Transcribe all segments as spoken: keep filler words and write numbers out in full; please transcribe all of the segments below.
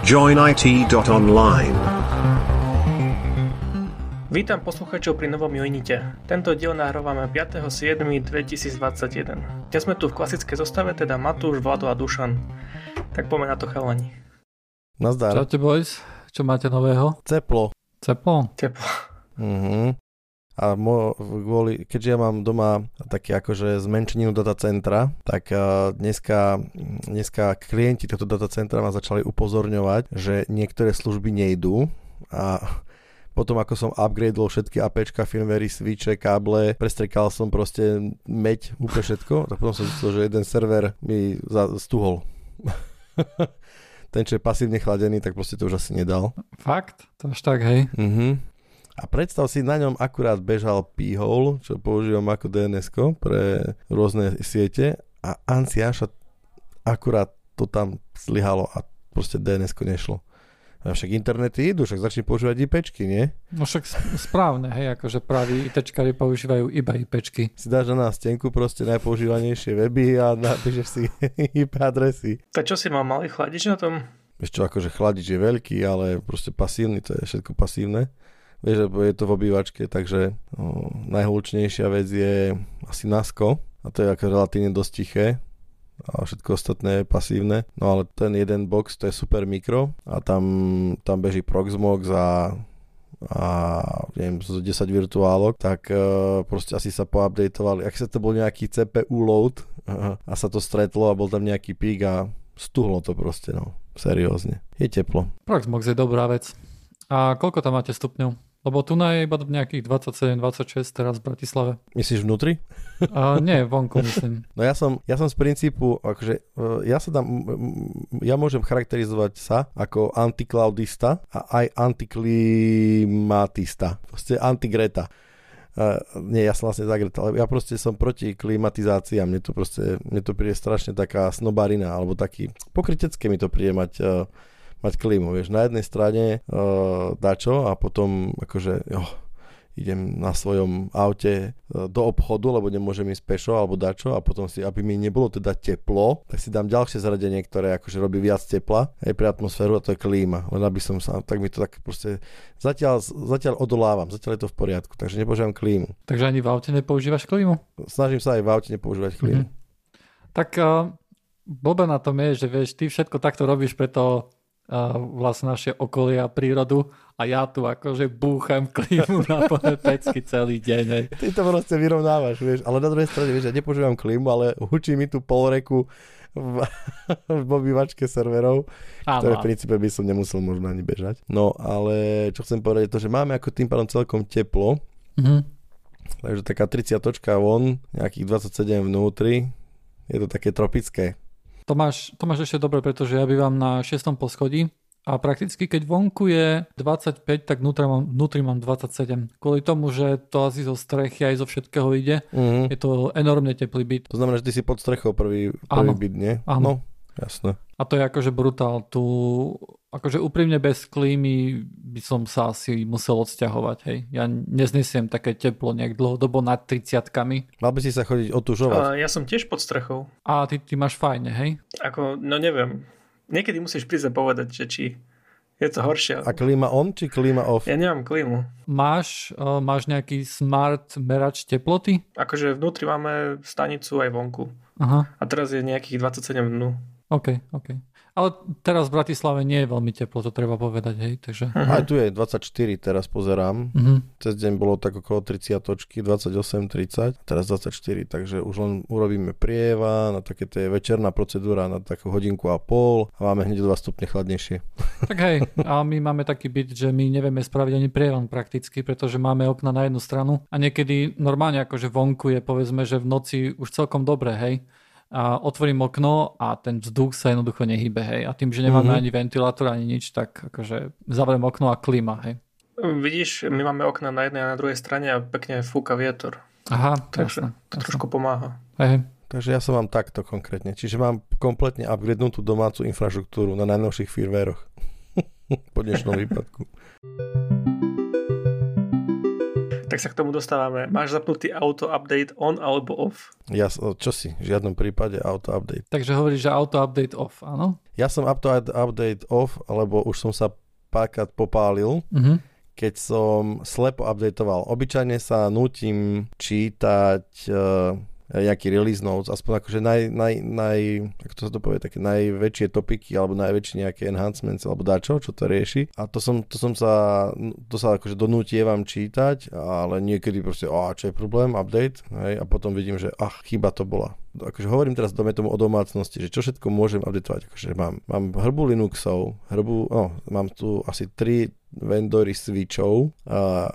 join I T dot online. Vítam poslucháčov pri novom Joinite. Tento diel nahrávame piateho júla dvetisícdvadsaťjeden. Dnes sme tu v klasickej zostave, teda Matúš, Vlado a Dušan. Tak poďme na to, chalani. Nazdar. Čaute, boys. Čo máte nového? Ceplo. Ceplo? Teplo. Mhm. A mo, kvôli, keďže ja mám doma také akože zmenšeninu datacentra, tak uh, dneska, dneska klienti tohto datacentra ma začali upozorňovať, že niektoré služby nejdú a potom ako som upgradeol všetky APčka, firmwary, switche, káble, prestrekal som proste meď, úplne všetko, tak potom som zistil, že jeden server mi stuhol. Ten, čo je pasívne chladený, tak proste to už asi nedal. Fakt? To až tak, hej? Mhm. A predstav si, na ňom akurát bežal P-hole, čo používam ako dé en esko pre rôzne siete a Anciaša akurát to tam zlyhalo a proste dé en esko nešlo. A však internety idú, však začne používať IPčky, nie? No však správne, hej, akože praví ITčkári používajú iba IPčky. Si dáš na nástenku proste najpoužívanejšie weby a napíšeš si í pé adresy. Tak čo si mal malý chladič na tom? Vieš čo, akože chladič je veľký, ale proste pasívny, to je všetko pasívne. Vieš, je to v obývačke, takže no, najhlučnejšia vec je asi Nasko a to je ako relatívne dosť tiché a všetko ostatné je pasívne. No ale ten jeden box, to je super mikro a tam, tam beží Proxmox a, a neviem, zo desať virtuálok, tak uh, proste asi sa poupdateovali. Ak sa to bol nejaký cé pé ú load uh, a sa to stretlo a bol tam nejaký pík a stuhlo to proste, no, seriózne. Je teplo. Proxmox je dobrá vec. A koľko tam máte stupňov? Lebo tu je iba nejakých dvadsaťsedem dvadsaťšesť teraz v Bratislave. Myslíš vnútri? Uh, nie, vonku myslím. No ja som, ja som z princípu, akože ja sa tam, ja môžem charakterizovať sa ako antiklaudista a aj antiklimatista. Proste antigreta. Uh, nie, ja som vlastne za Greta, ale ja proste som proti klimatizácii a mne to proste, mne to príde strašne taká snobarina, alebo taký pokrytecké mi to príde mať uh, mať klímu, vieš, na jednej strane uh, dačo a potom akože jo, idem na svojom aute uh, do obchodu, lebo nemôžem ísť pešo alebo dačo a potom si, aby mi nebolo teda teplo, tak si dám ďalšie zaradenie, ktoré akože robí viac tepla aj pre atmosféru a to je klíma, len aby som sa, tak mi to tak proste zatiaľ, zatiaľ odolávam, zatiaľ je to v poriadku, takže nepoužívam klímu. Takže ani v aute nepoužívaš klímu? Snažím sa aj v aute nepoužívať klímu. Mm-hmm. Tak uh, blbé na tom je, že vieš, ty všetko takto robíš preto Uh, vlastne naše okolie a prírodu a ja tu akože búcham klímu na plné pecky celý deň. Hej. Ty to proste vyrovnávaš, vieš, ale na druhej strane, vieš, ja nepoužívam klímu, ale hučí mi tu pol reku v, v obývačke serverov, áno, ktoré v princípe by som nemusel možno ani bežať. No, ale čo chcem povedať je to, že máme ako tým pádom celkom teplo, mm-hmm. takže taká tridsiatočka von, nejakých dvadsaťsedem vnútri, je to také tropické. To máš, to máš ešte dobre, pretože ja bývam na šiestom poschodí a prakticky keď vonku je dvadsaťpäť, tak vnútri mám, vnútri mám dvadsaťsedem. Kvôli tomu, že to asi zo strechy aj zo všetkého ide, mm-hmm. je to enormne teplý byt. To znamená, že ty si pod strechou prvý, prvý byt, nie? Áno. No, jasné. A to je akože brutál. Tu, akože úprimne bez klímy by som sa asi musel odsťahovať. Hej. Ja neznesiem také teplo nejak dlhodobo nad tridsiatkami. Mal by si sa chodiť otužovať. A ja som tiež pod strechou. A ty, ty máš fajne, hej? Ako, no neviem. Niekedy musíš prísť a povedať, že či je to horšie. A klíma on, či klíma off? Ja nemám klímu. Máš, uh, máš nejaký smart merač teploty? Akože vnútri máme stanicu aj vonku. Aha. A teraz je nejakých dvadsaťsedem dnu. OK, OK. Ale teraz v Bratislave nie je veľmi teplo, to treba povedať, hej, takže... Uh-huh. Aj tu je dvadsaťštyri, teraz pozerám. Uh-huh. Cez deň bolo tak okolo tridsiatočky, dvadsaťosem tridsať, teraz dvadsaťštyri, takže už len urobíme prieva, na také tie večerná procedúra na takú hodinku a pol a máme hneď dva stupne chladnejšie. Tak hej, a my máme taký byt, že my nevieme spraviť ani prievan prakticky, pretože máme okna na jednu stranu a niekedy normálne akože vonku je povedzme, že v noci už celkom dobre, hej. A otvorím okno a ten vzduch sa jednoducho nehybe, hej. A tým, že nemáme mm-hmm. ani ventilátor, ani nič, tak akože zavriem okno a klíma, hej. Vidíš, my máme okna na jednej a na druhej strane a pekne fúka vietor. Aha, takže jasne, to trošku pomáha. Hej. Takže ja som vám takto konkrétne. Čiže mám kompletne upgradenutú domácu infraštruktúru na najnovších firmwaroch. Po dnešnom výpadku. Tak sa k tomu dostávame. Máš zapnutý auto update on alebo off? Ja, čo si? V žiadnom prípade auto update. Takže hovoríš, že auto update off, áno? Ja som up to update off, lebo už som sa párkrát popálil, mm-hmm. keď som slepo updateoval. Obyčajne sa nútim čítať uh, nejaký release notes, aspoň akože naj, naj, naj, ako to sa to povie, také najväčšie topiky, alebo najväčšie nejaké enhancements, alebo dačo, čo to rieši. A to som, to som sa, to sa akože donútievam čítať, ale niekedy proste, a čo je problém, update, hej, a potom vidím, že ach, chyba to bola. Akože hovorím teraz dome tomu o domácnosti, že čo všetko môžem updateovať. Akože mám, mám hrbu Linuxov, hrbu, no, mám tu asi tri vendory switchov, a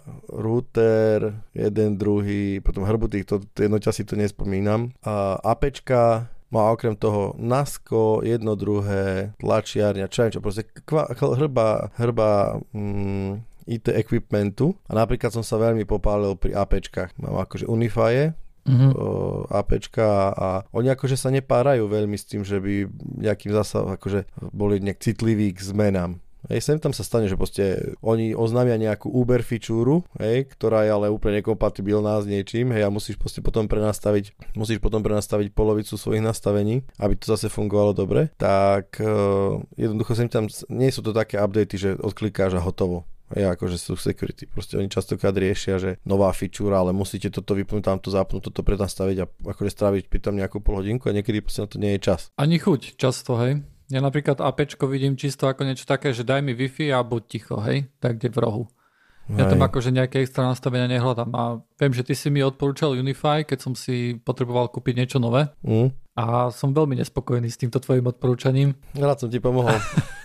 router, jeden, druhý, potom hrbu týchto, jedno ťa si to nespomínam. A APčka má okrem toho Nasko, jedno, druhé, tlačiarňa, čo čo, proste kva, hrba, hrba mm, í té equipmentu. A napríklad som sa veľmi popálil pri APčkách. Mám akože Unify, mm-hmm. APčka a oni akože sa nepárajú veľmi s tým, že by nejakým zasa akože boli nejak citliví k zmenám. Hej, sem tam sa stane, že proste oni oznámia nejakú Uber fičúru, hej, ktorá je ale úplne nekompatibilná s niečím, hej, a musíš proste potom prenastaviť, musíš potom prenastaviť polovicu svojich nastavení, aby to zase fungovalo dobre, tak uh, jednoducho sem tam, nie sú to také updaty, že odklikáš a hotovo. Hej, akože sú security. Proste oni častokrát riešia, že nová fičúra, ale musíte toto vypnúť, tamto zapnúť, toto prenastaviť a akože stráviť pri tom nejakú pol hodinku a niekedy proste na to nie je čas. Ani chuť často, hej. Ja napríklad APčko vidím čisto ako niečo také, že daj mi Wi-Fi a buď ticho, hej, tak kde v rohu. Ja tam akože nejaké extra nastavenia nehľadám a viem, že ty si mi odporúčal Unify, keď som si potreboval kúpiť niečo nové mm. a som veľmi nespokojný s týmto tvojim odporúčaním. Rád som ti pomohol.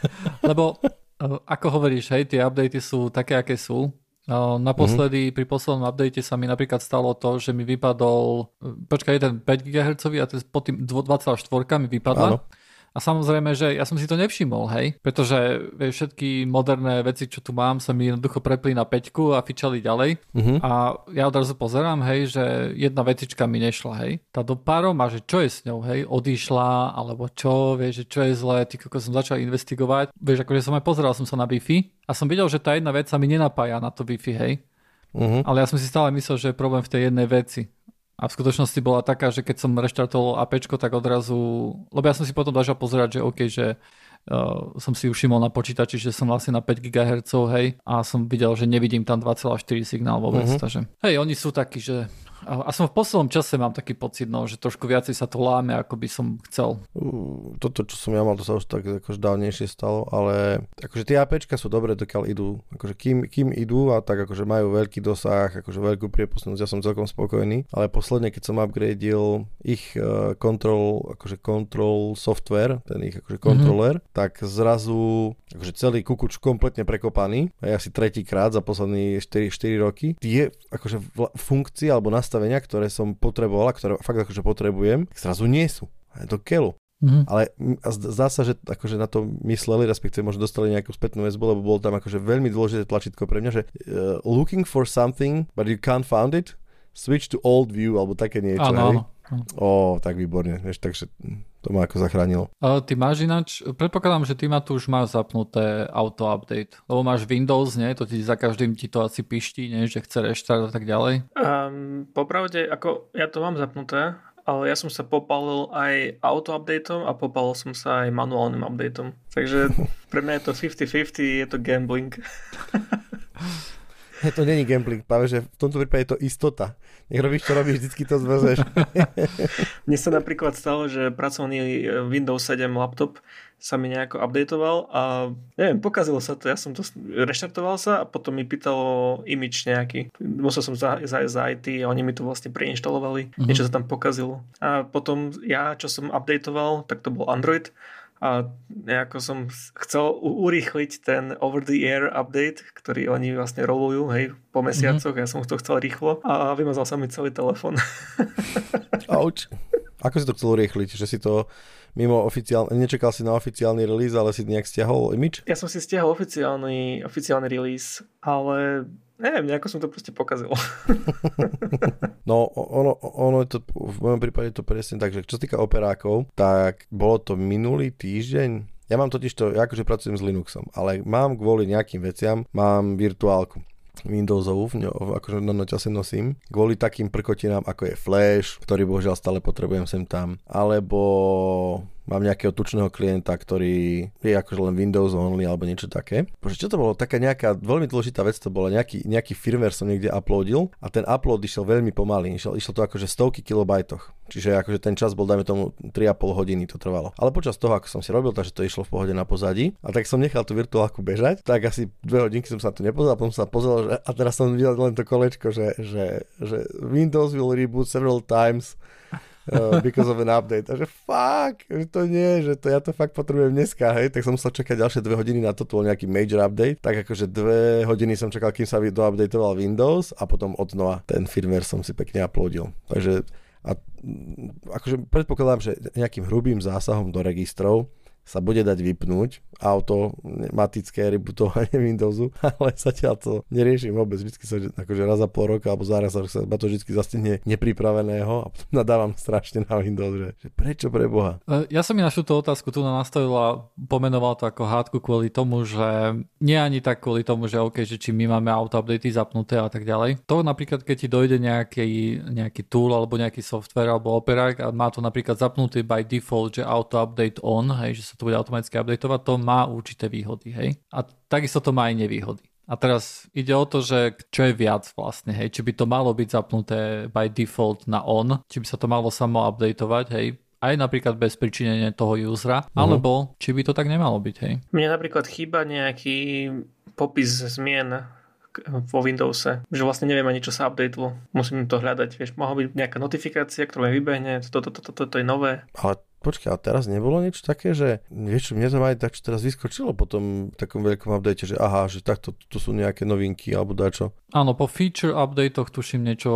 Lebo ako hovoríš, hej, tie updaty sú také, aké sú. Naposledy, mm-hmm. pri poslednom update sa mi napríklad stalo to, že mi vypadol, počkaj, jeden päť gigahertzov a pod tým dva celé štyri mi vypadla. Áno. A samozrejme, že ja som si to nevšimol, hej, pretože vieš, všetky moderné veci, čo tu mám, sa mi jednoducho prepli na päťku a fičali ďalej. Uh-huh. A ja odrazu pozerám, hej, že jedna vecička mi nešla, hej. Tá do párov má, že čo je s ňou, hej, odišla, alebo čo, vieš, že čo je zlé, ty ako som začal investigovať. Vieš, akože som aj pozeral som sa na Wi-Fi a som videl, že tá jedna vec sa mi nenapája na to Wi-Fi, hej. Uh-huh. Ale ja som si stále myslel, že je problém v tej jednej veci. A v skutočnosti bola taká, že keď som reštartoval APčko, tak odrazu, lebo ja som si potom začal pozerať, že OK, že uh, som si už všimol na počítači, že som vlastne na päť gigahertzov, hej, a som videl, že nevidím tam dva celé štyri signál vôbec, mm-hmm. takže hej, oni sú takí, že a som v poslednom čase mám taký pocit, no, že trošku viacej sa to láme, ako by som chcel. Uh, toto, čo som ja mal, to sa už tak akože dávnejšie stalo, ale akože tie APčka sú dobré, dokiaľ idú. Akože kým, kým idú a tak akože majú veľký dosah, akože veľkú priepustnosť, ja som celkom spokojný, ale posledne, keď som upgradil ich uh, control, akože control software, ten ich akože kontroler, mm-hmm. tak zrazu akože celý kukuč kompletne prekopaný, aj asi tretíkrát za posledné štyri, štyri roky. Tie akože funkcie alebo nastavenia, ktoré som potreboval, ktoré fakt akože potrebujem, zrazu nie sú. Je to keľu. Mm-hmm. Ale zdá sa, že akože na to mysleli, respektíve možno dostali nejakú spätnú väzbu, lebo bolo tam akože veľmi dôležité tlačítko pre mňa, že uh, looking for something, but you can't find it, switch to old view, alebo také niečo. Áno, áno. Ó, tak výborne, vieš, takže to ma ako zachránilo. Uh, ty máš ináč, predpokladám, že ty ma tu už máš zapnuté auto-update, lebo máš Windows, nie? To ti za každým ti to asi piští, nie? Že chce reštart a tak ďalej. Um, popravde, ako ja to mám zapnuté, ale ja som sa popálil aj auto-updateom a popálil som sa aj manuálnym updateom. Takže pre mňa je to päťdesiat päťdesiat, je to gambling. Je to není gambling, práve že v tomto prípade je to istota. Nech robíš, čo robíš, vždycky to zvrzeš. Mne sa napríklad stalo, že pracovný Windows sedem laptop sa mi nejako updateoval a neviem, pokazilo sa to. Ja som to reštartoval sa a potom mi pýtalo image nejaký. Musel som zájsť za í té a oni mi to vlastne preinštalovali. Mm-hmm. Niečo sa tam pokazilo. A potom ja, čo som updateoval, tak to bol Android. A nejako som chcel urýchliť ten over-the-air update, ktorý oni vlastne rolujú, hej, po mesiacoch. Mm-hmm. Ja som to chcel rýchlo a vymazal sa mi celý telefón. Auč. Ako si to chcel urýchliť? Že si to mimo oficiálne, nečakal si na oficiálny release, ale si nejak stiahol image? Ja som si stiahol oficiálny, oficiálny release, ale neviem, nejako som to proste pokazil. No, ono, ono je to, v mojom prípade to presne tak, že čo sa týka operákov, tak bolo to minulý týždeň. Ja mám totiž to, ja akože pracujem s Linuxom, ale mám kvôli nejakým veciam, mám virtuálku Windowsovú, akože na noťase nosím, kvôli takým prkotinám, ako je Flash, ktorý bohužiaľ stále potrebujem sem tam, alebo mám nejakého tučného klienta, ktorý je akože len Windows only alebo niečo také. Bože, čo to bolo? Taká nejaká veľmi dôležitá vec to bola, nejaký, nejaký firmware som niekde uploadil a ten upload išiel veľmi pomaly, išiel, išiel to akože stovky kilobajtoch, čiže akože ten čas bol, dajme tomu, tri a pol hodiny to trvalo. Ale počas toho, ako som si robil, takže to išlo v pohode na pozadí a tak som nechal tú virtuálku bežať, tak asi dve hodinky som sa tu nepozeral, potom som sa pozrel, že, a teraz som videl len to kolečko, že, že, že Windows will reboot several times Uh, because of an update. A že fuck, že to nie, že to ja to fakt potrebujem dneska, hej, tak som musel čakať ďalšie dve hodiny na to, to bol nejaký major update, tak akože dve hodiny som čakal, kým sa doupdateoval Windows a potom od znova ten firmware som si pekne uploadil. Takže a, akože predpokladám, že nejakým hrubým zásahom do registrov sa bude dať vypnúť automatické rebootovanie Windowsu, ale zatiaľ to neriešim vôbec. Vždycky sa akože raz za pol roka alebo za raz sa ma to vždycky zastihne nepripraveného a potom nadávam strašne na Windows, že, že prečo pre Boha? Ja som mi našu tú otázku tu nastavil a pomenoval to ako hádku kvôli tomu, že nie ani tak kvôli tomu, že OK, že či my máme auto-updaty zapnuté a tak ďalej. To napríklad, keď ti dojde nejaký, nejaký tool alebo nejaký software alebo operák a má to napríklad zapnutý by default, že auto-update on, hej, že sa to bude automaticky updateovať, to má určité výhody, hej. A takisto to má aj nevýhody. A teraz ide o to, že čo je viac vlastne, hej. Či by to malo byť zapnuté by default na on, či by sa to malo samo updateovať, hej. Aj napríklad bez pričinenia toho usera, uh-huh. alebo či by to tak nemalo byť, hej. Mne napríklad chýba nejaký popis zmien vo Windowse, že vlastne neviem ani čo sa updatelo. Musím to hľadať, vieš, mohla byť nejaká notifikácia, ktorá mi vybehne, toto, toto, toto, toto je nové. Ale počkaj, ale teraz nebolo niečo také, že vieš čo, mne to aj tak, čo teraz vyskočilo po tom takom veľkom update, že aha, že takto tu sú nejaké novinky alebo dačo. Áno, po feature updatech tuším niečo,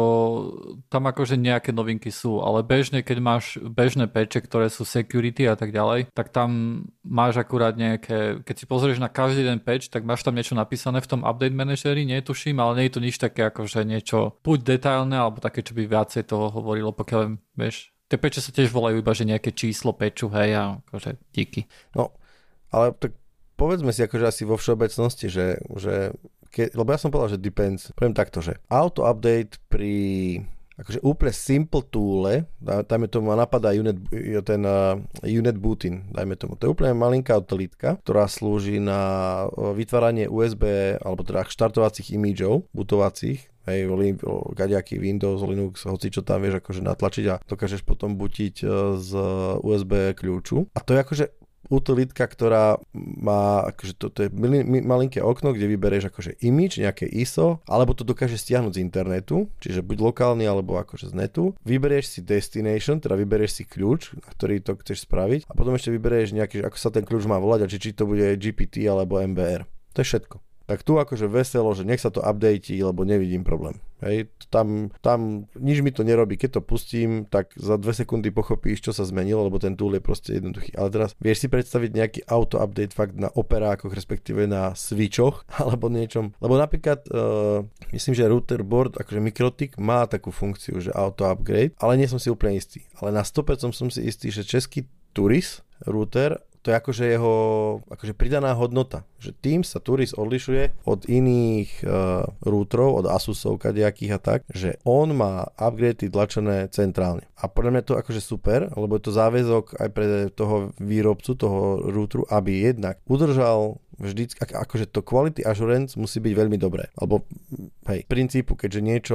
tam akože nejaké novinky sú, ale bežne, keď máš bežné patche, ktoré sú security a tak ďalej, tak tam máš akurát nejaké, keď si pozrieš na každý ten patch, tak máš tam niečo napísané v tom update manageri, netuším, ale nie je to nič také akože niečo buď detailné, alebo také, čo by viacej toho hovorilo, pokiaľ vieš. Tie peče sa tiež volajú iba, že nejaké číslo peču, hej, a akože díky. No, ale tak povedzme si akože asi vo všeobecnosti, že, že ke, lebo ja som povedal, že depends. Poviem takto, že auto-update pri akože úplne simple toole, dajme tomu, ma napadá unit, ten uh, unit booting, dajme tomu. To je úplne malinká utilitka, ktorá slúži na vytváranie ú es bé, alebo teda štartovacích imidžov, bootovacích, hej, kadejaký Windows, Linux, hoci čo tam vieš akože natlačiť a dokážeš potom bootiť z ú es bé kľúču. A to je akože utilitka, ktorá má akože to, to je malinké okno, kde vybereš akože image, nejaké í es ó, alebo to dokáže stiahnuť z internetu, čiže buď lokálny, alebo akože z netu. Vyberieš si destination, teda vyberieš si kľúč, na ktorý to chceš spraviť a potom ešte vyberieš nejaký, ako sa ten kľúč má volať a či, či to bude gé pé té alebo em bé er. To je všetko. Tak tu akože veselo, že nech sa to updatí, lebo nevidím problém. Hej, tam, tam nič mi to nerobí. Keď to pustím, tak za dve sekundy pochopíš, čo sa zmenilo, lebo ten tool je proste jednoduchý. Ale teraz vieš si predstaviť nejaký auto-update fakt na operákoch, respektíve na switchoch, alebo niečom. Lebo napríklad, uh, myslím, že router board, akože Mikrotik má takú funkciu, že auto-upgrade, ale nie som si úplne istý. Ale na sto percent som si istý, že český Turis router, to je akože jeho akože pridaná hodnota. Že tým sa Turis odlišuje od iných uh, routerov, od Asusov, kadejakých a tak, že on má upgradey tlačené centrálne. A podľa mňa to akože super, lebo je to záväzok aj pre toho výrobcu, toho routeru, aby jednak udržal vždycky, akože to quality assurance musí byť veľmi dobré. Alebo hej, v princípu, keďže niečo,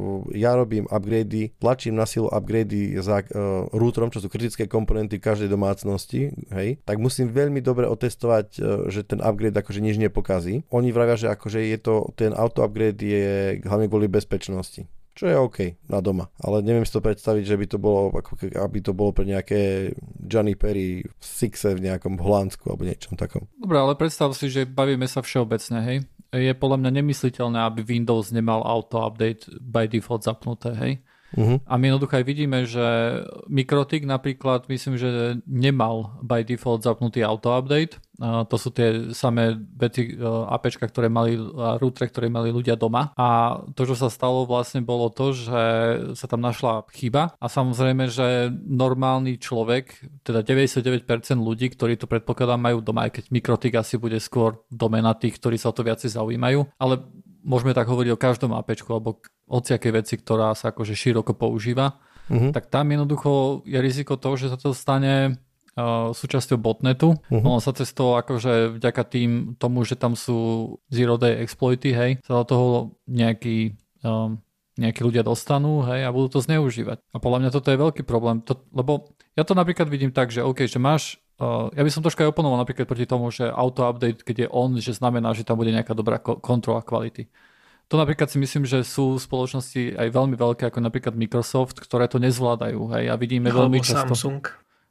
ja robím upgrady, tlačím na silu upgrady za uh, routerom, čo sú kritické komponenty každej domácnosti, hej, tak musím veľmi dobre otestovať, uh, že ten upgrade akože nič nepokazí. Oni vravia, že akože je to, ten auto upgrade je hlavne kvôli bezpečnosti. Čo je OK na doma, ale neviem si to predstaviť, že by to bolo, ako aby to bolo pre nejaké Johnny Perry v Sixe v nejakom Holandsku alebo niečom takom. Dobre, ale predstav si, že bavíme sa všeobecne, hej. Je podľa mňa nemysliteľné, aby Windows nemal auto-update by default zapnuté, hej. Uh-huh. A my jednoducho aj vidíme, že Mikrotik napríklad, myslím, že nemal by default zapnutý auto-update. Uh, to sú tie samé veci, uh, APčka, ktoré mali, uh, routere, ktoré mali ľudia doma. A to, čo sa stalo vlastne bolo to, že sa tam našla chyba a samozrejme, že normálny človek, teda deväťdesiatdeväť percent ľudí, ktorí to predpokladám majú doma, aj keď Mikrotik asi bude skôr domena tých, ktorí sa o to viacej zaujímajú, ale môžeme tak hovoriť o každom APčku alebo hociakej veci, ktorá sa akože široko používa, uh-huh. tak tam jednoducho je riziko toho, že sa to stane uh, súčasťou botnetu. Uh-huh. On sa cez to akože vďaka tým tomu, že tam sú zero day exploity, hej, sa do toho nejaký um, nejakí ľudia dostanú, hej, a budú to zneužívať. A podľa mňa toto je veľký problém, to, lebo ja to napríklad vidím tak, že OK, že máš, uh, ja by som troška aj oponoval napríklad proti tomu, že auto-update, keď je on, že znamená, že tam bude nejaká dobrá ko- kontrola kvality. To napríklad si myslím, že sú spoločnosti aj veľmi veľké, ako napríklad Microsoft, ktoré to nezvládajú, hej, a vidíme alebo veľmi často. Samsung.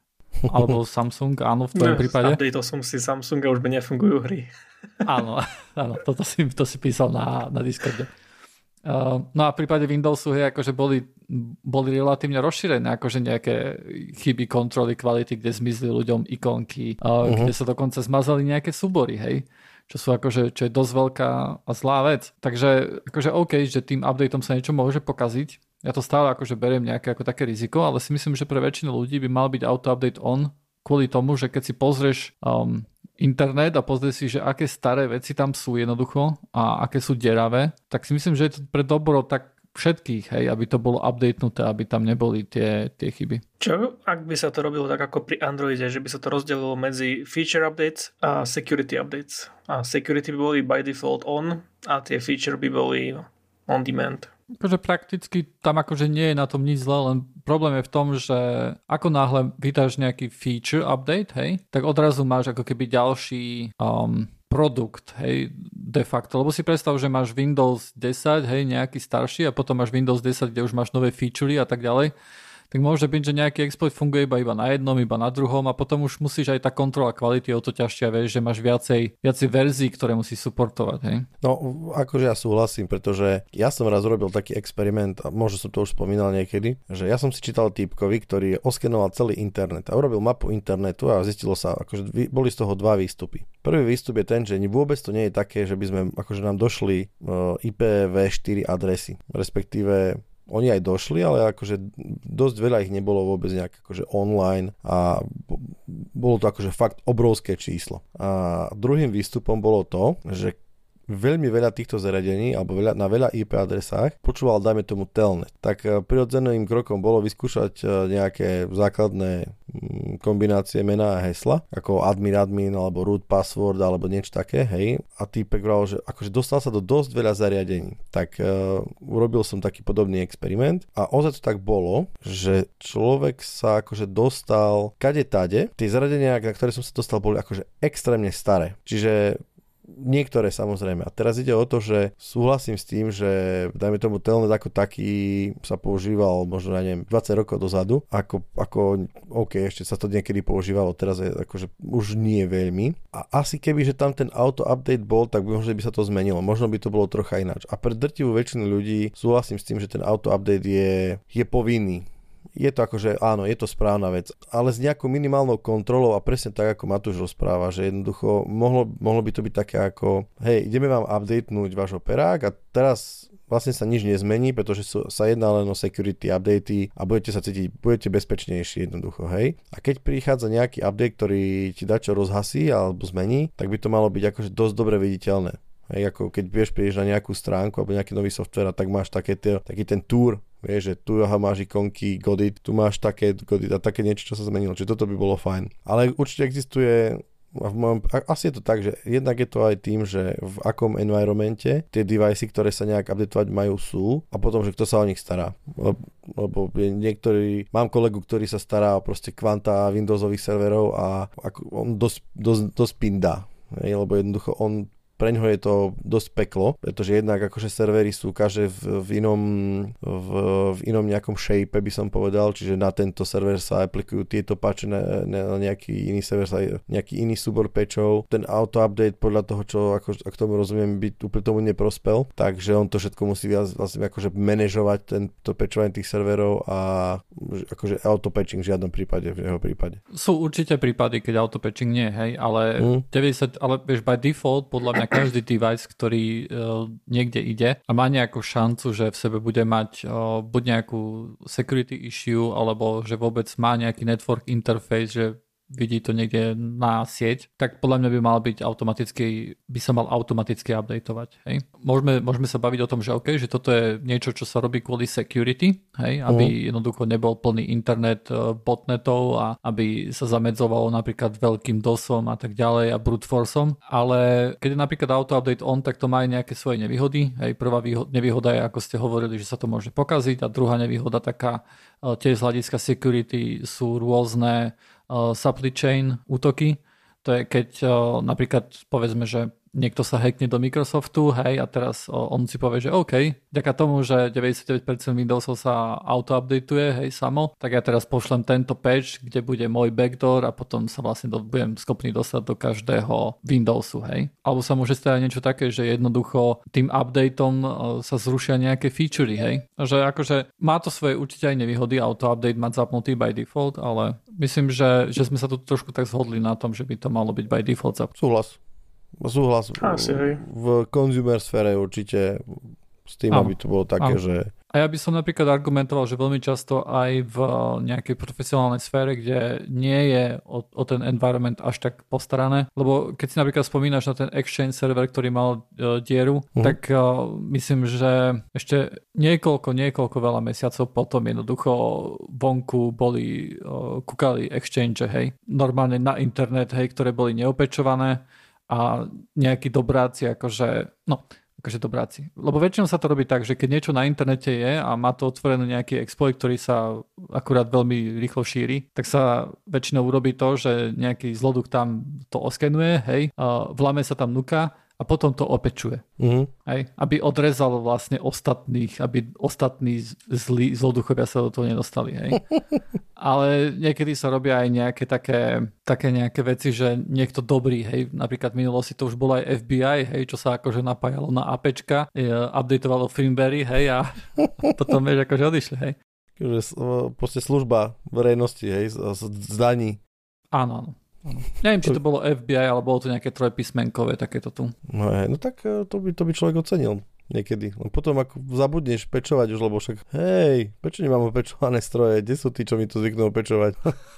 Alebo Samsung, áno, v tvojom no, prípade. Updateol som si Samsung a už by nefungujú hry. Áno, áno, toto si, to si písal na, na Discorde. Uh, no a v prípade Windowsu hej, akože boli, boli relatívne rozšírené akože nejaké chyby kontroly kvality, kde zmizli ľuďom ikonky, uh, uh-huh. kde sa dokonca zmazali nejaké súbory, hej, čo sú akože, čo je dosť veľká a zlá vec. Takže akože OK, že tým updateom sa niečo môže pokaziť. Ja to stále akože beriem nejaké ako také riziko, ale si myslím, že pre väčšinu ľudí by mal byť auto-update on kvôli tomu, že keď si pozrieš um, internet a pozrieš si, že aké staré veci tam sú jednoducho a aké sú deravé, tak si myslím, že je to pre dobro tak všetkých, hej, aby to bolo updatenuté, aby tam neboli tie, tie chyby. Čo, ak by sa to robilo tak ako pri Androide, že by sa to rozdelilo medzi feature updates a security updates. A security by boli by default on a tie feature by boli on demand. Akože prakticky tam akože nie je na tom nič zle, len problém je v tom, že ako náhle vydáš nejaký feature update, hej, tak odrazu máš ako keby ďalší um, produkt, hej, de facto. Lebo si predstav, že máš Windows desať, hej, nejaký starší a potom máš Windows desať, kde už máš nové featurey a tak ďalej. Tak môže byť, že nejaký exploit funguje iba, iba na jednom, iba na druhom a potom už musíš aj tá kontrola kvality o to ťažšia, vieš, že máš viacej, viacej verzií, ktoré musíš suportovať, hej? No, akože ja súhlasím, pretože ja som raz robil taký experiment a možno som to už spomínal niekedy, že ja som si čítal týpkovi, ktorý oskenoval celý internet a urobil mapu internetu a zistilo sa, akože boli z toho dva výstupy. Prvý výstup je ten, že vôbec to nie je také, že by sme, akože nám došli í pé vé štyri adresy, respektíve oni aj došli, ale akože dosť veľa ich nebolo vôbec nejak akože online a bolo to akože fakt obrovské číslo. A druhým výstupom bolo to, že veľmi veľa týchto zariadení alebo veľa, na veľa í pé adresách počúval, dajme tomu, telnet. Tak prirodzeným krokom bolo vyskúšať nejaké základné kombinácie mena a hesla, ako admin admin alebo root password alebo niečo také, hej. A týpek vral, že akože dostal sa do dosť veľa zariadení. Tak uh, urobil som taký podobný experiment a ozaj to tak bolo, že človek sa akože dostal kade tade. Tie zariadenia, na ktoré som sa dostal, boli akože extrémne staré. Čiže niektoré samozrejme. A teraz ide o to, že súhlasím s tým, že dajme tomu telnet ako taký sa používal možno, ja neviem, dvadsať rokov dozadu, ako, ako OK, ešte sa to niekedy používalo, teraz je akože už nie veľmi. A asi keby, že tam ten auto-update bol, tak by možno by sa to zmenilo. Možno by to bolo trocha ináč. A pre drtivú väčšinu ľudí súhlasím s tým, že ten auto-update je, je povinný. Je to akože, áno, je to správna vec, ale s nejakou minimálnou kontrolou a presne tak, ako Matúš rozpráva, že jednoducho mohlo, mohlo by to byť také ako, hej, ideme vám updatenúť váš operák a teraz vlastne sa nič nezmení, pretože sú, sa jedná len o security updaty a budete sa cítiť, budete bezpečnejší jednoducho, hej. A keď prichádza nejaký update, ktorý ti dá čo rozhasí alebo zmení, tak by to malo byť akože dosť dobre viditeľné. Hej, ako keď vieš, prídeš na nejakú stránku alebo nejaký nový software a tak máš také tie, taký ten tour, vieš, že tu máš ikonky Godit, tu máš také Godit a také niečo, čo sa zmenilo. Čiže toto by bolo fajn. Ale určite existuje, v mojom, asi je to tak, že jednak je to aj tým, že v akom environmente tie devicey, ktoré sa nejak updateovať majú, sú a potom, že kto sa o nich stará. Lebo niektorí, mám kolegu, ktorý sa stará o proste kvanta Windowsových serverov a ako on dosť, dosť, dosť pindá. Lebo jednoducho on preňho je to dosť peklo, pretože jednak akože servery sú každé v, v inom v, v inom nejakom shape, by som povedal, čiže na tento server sa aplikujú tieto patche, na, na nejaký iný server sa nejaký iný súbor patchov. Ten auto update podľa toho, čo ako, ak tomu rozumiem, by úplne tomu neprospel, takže on to všetko musí viac vlastne akože manažovať tento patchovanie tých serverov a akože auto patching v žiadnom prípade, v jeho prípade. Sú určite prípady, keď auto patching nie, hej, ale mm. deväťdesiat, ale vieš, by default podľa mňa každý device, ktorý uh, niekde ide a má nejakú šancu, že v sebe bude mať uh, buď nejakú security issue, alebo že vôbec má nejaký network interface, že vidí to niekde na sieť, tak podľa mňa by mal byť automaticky, by sa mal automaticky updateovať. Hej. Môžeme, môžeme sa baviť o tom, že OK, že toto je niečo, čo sa robí kvôli security, hej, aby uh-huh. jednoducho nebol plný internet botnetov a aby sa zamedzovalo napríklad veľkým dosom a tak ďalej a brute forceom, ale keď je napríklad auto update on, tak to má aj nejaké svoje nevýhody. Hej, prvá nevýhoda je, ako ste hovorili, že sa to môže pokaziť, a druhá nevýhoda taká tiež z hľadiska security sú rôzne uh, supply chain útoky. To je keď uh, napríklad povedzme, že niekto sa hackne do Microsoftu, hej, a teraz uh, on si povie, že OK, vďaka tomu, že deväťdesiatdeväť percent Windowsov sa auto-updateuje, hej, samo, tak ja teraz pošlem tento patch, kde bude môj backdoor a potom sa vlastne do, budem schopný dostať do každého Windowsu, hej. Alebo sa môže stať niečo také, že jednoducho tým updateom uh, sa zrušia nejaké featurey, hej. Že akože má to svoje určite aj nevýhody, auto-update mať zapnutý by default, ale myslím, že, že sme sa tu trošku tak zhodli na tom, že by to malo byť by default zapnutý. Súhlas. Súhlas. Asi, v consumer sfére určite s tým, áno, aby to bolo také, áno, že... A ja by som napríklad argumentoval, že veľmi často aj v nejakej profesionálnej sfére, kde nie je o, o ten environment až tak postarané, lebo keď si napríklad spomínaš na ten Exchange server, ktorý mal uh, dieru, uh-huh. tak uh, myslím, že ešte niekoľko, niekoľko veľa mesiacov potom jednoducho vonku boli, uh, kúkali Exchange, hej, normálne na internet, hej, ktoré boli neopečované a nejakí dobráci, akože, no, akože dobráci. Lebo väčšinou sa to robí tak, že keď niečo na internete je a má to otvorený nejaký exploit, ktorý sa akurát veľmi rýchlo šíri, tak sa väčšinou urobí to, že nejaký zloduch tam to oskenuje, hej, vlame sa tam nuka a potom to opečuje. Mm-hmm. Hej, aby odrezal vlastne ostatných, aby ostatní zlí zloduchovia sa do toho nedostali. Hej. Ale niekedy sa robia aj nejaké také, také nejaké veci, že niekto dobrý, hej, napríklad v minulosti to už bolo aj F B I, hej, čo sa akože napájalo na APčka, updateovalo firmwary, hej, a potom vieš, akože odišli, hej. Proste služba verejnosti, hej, z daní. Áno, áno. Ano. Neviem, či to bolo F B I, ale bolo to nejaké trojpísmenkové takéto tu. No, no tak to by, to by človek ocenil niekedy. Potom ako zabudneš pečovať už, lebo však hej, prečo nemám opečované stroje? Kde sú tí, čo mi to zvyknú opečovať?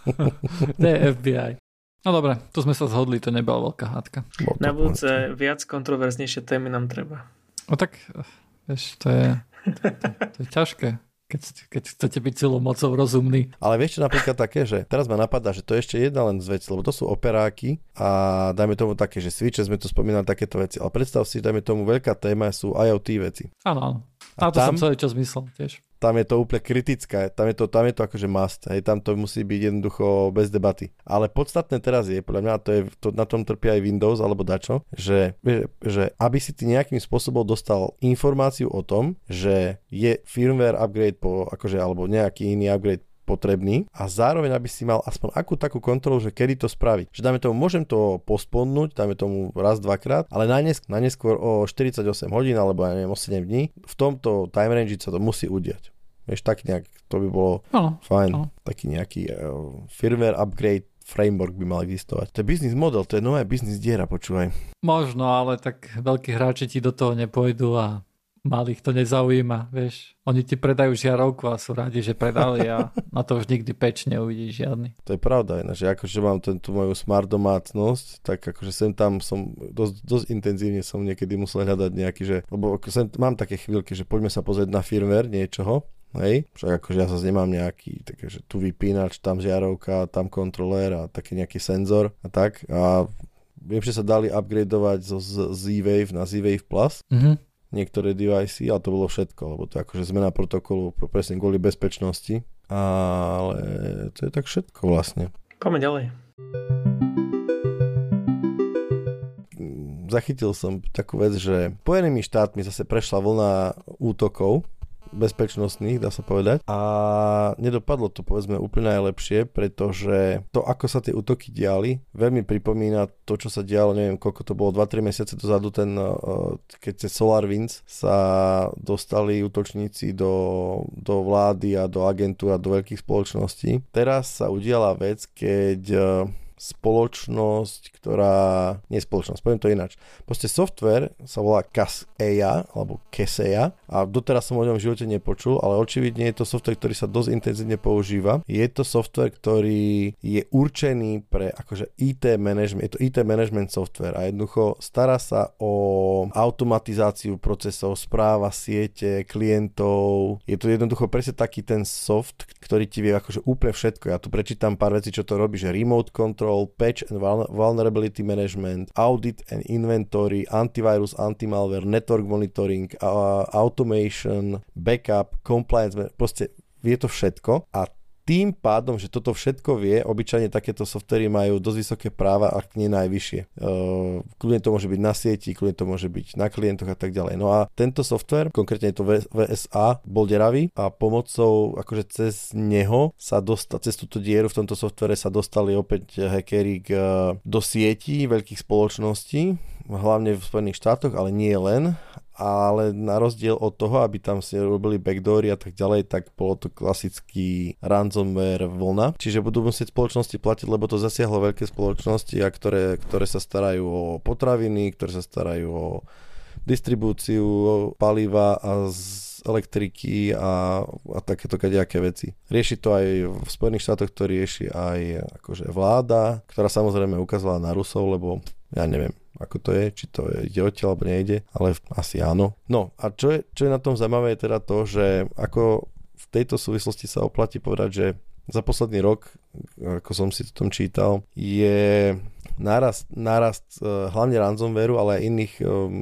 To je F B I. No dobre, tu sme sa zhodli, to nebola veľká hádka. Na budúce viac kontroverznejšie témy nám treba. No tak, vieš, to je, to, to, to je ťažké. Keď, keď chcete byť celou mocou rozumný. Ale vieš čo napríklad také, že teraz ma napadá, že to je ešte jedna len z vecí, lebo to sú operáky a dajme tomu také, že switche, sme tu spomínali takéto veci, ale predstav si, dajme tomu veľká téma sú IoT veci. Áno, áno. A, a to tam, som celý čas myslel tiež. Tam je to úplne kritické, tam je to, tam je to akože must, hej, tam to musí byť jednoducho bez debaty. Ale podstatné teraz je, podľa mňa, to je, to, na tom trpí aj Windows alebo dačo, že, že aby si ty nejakým spôsobom dostal informáciu o tom, že je firmware upgrade po, akože, alebo nejaký iný upgrade potrebný a zároveň, aby si mal aspoň akú takú kontrolu, že kedy to spraviť. Že dáme tomu, môžem to postponnúť, dáme tomu raz, dvakrát, ale najnesk- najneskôr o štyridsaťosem hodín alebo ja neviem, o sedem dní, v tomto time range sa to musí udiať. Vieš, tak nejak, to by bolo no, fajn. No. Taký nejaký uh, firmware upgrade framework by mal existovať. To je business model, to je nová business diera, počúvaj. Možno, ale tak veľkí hráči ti do toho nepôjdu a malých to nezaujíma, vieš. Oni ti predajú žiarovku a sú rádi, že predali a na to už nikdy peč neuvidíš žiadny. To je pravda, že akože mám tú moju smart domácnosť, tak akože sem tam som dosť, dosť intenzívne som niekedy musel hľadať nejaký, že, lebo sem, mám také chvíľky, že poďme sa pozrieť na firmware niečoho, hej, však akože ja sa nemám nejaký, takže tu vypínač, tam žiarovka, tam kontrolér a taký nejaký senzor a tak a viem, že sa dali upgradeovať zo Z-Wave na Z-Wave Plus. Mhm. Niektoré device, ale to bolo všetko, lebo to je akože zmena protokolu presne kvôli bezpečnosti, ale to je tak všetko vlastne. Poďme ďalej. Zachytil som takú vec, že Spojenými štátmi zase prešla vlna útokov bezpečnostných, dá sa povedať. A nedopadlo to, povedzme, úplne najlepšie, pretože to, ako sa tie útoky diali, veľmi pripomína to, čo sa dialo, neviem, koľko to bolo, dva tri mesiace dozadu, ten, keď cez SolarWinds sa dostali útočníci do, do vlády a do agentúr a do veľkých spoločností. Teraz sa udiala vec, keď spoločnosť, ktorá... Nie spoločnosť, poviem to ináč. Proste software sa volá Kaseya, alebo Kaseya a doteraz som o ňom v živote nepočul, ale očividne je to software, ktorý sa dosť intenzívne používa. Je to software, ktorý je určený pre akože í té management, je to í té management software a jednoducho stará sa o automatizáciu procesov, správa siete, klientov. Je to jednoducho presne taký ten soft, ktorý ti vie akože úplne všetko. Ja tu prečítam pár vecí, čo to robí, že remote control, patch and vulnerability management, audit and inventory, antivirus, antimalware, network monitoring, uh, automation, backup, compliance, proste vie to všetko a tým pádom, že toto všetko vie, obyčajne takéto softvery majú dosť vysoké práva, ak nie najvyššie. Uh, kľudne to môže byť na sieti, kľudne to môže byť na klientoch a tak ďalej. No a tento software, konkrétne je to vé es á, bol deravý a pomocou, akože cez neho sa dostal, cez túto dieru v tomto softvere sa dostali opäť hackeri k, do sietí veľkých spoločností, hlavne v Spojených štátoch, ale nie len. Ale na rozdiel od toho, aby tam si robili backdoory a tak ďalej, tak bolo to klasický ransomware vlna. Čiže budú musieť spoločnosti platiť, lebo to zasiahlo veľké spoločnosti, a ktoré, ktoré sa starajú o potraviny, ktoré sa starajú o distribúciu paliva a z elektriky a, a takéto kadejaké veci. Rieši to aj v Spojených štátoch, to rieši aj akože vláda, ktorá samozrejme ukázala na Rusov, lebo ja neviem, ako to je, či to ide odtiaľ, alebo nejde, ale asi áno. No a čo je, čo je na tom zaujímavé je teda to, že ako v tejto súvislosti sa oplatí povedať, že za posledný rok, ako som si to tom čítal, je nárast, nárast hlavne ransomwareu, ale aj iných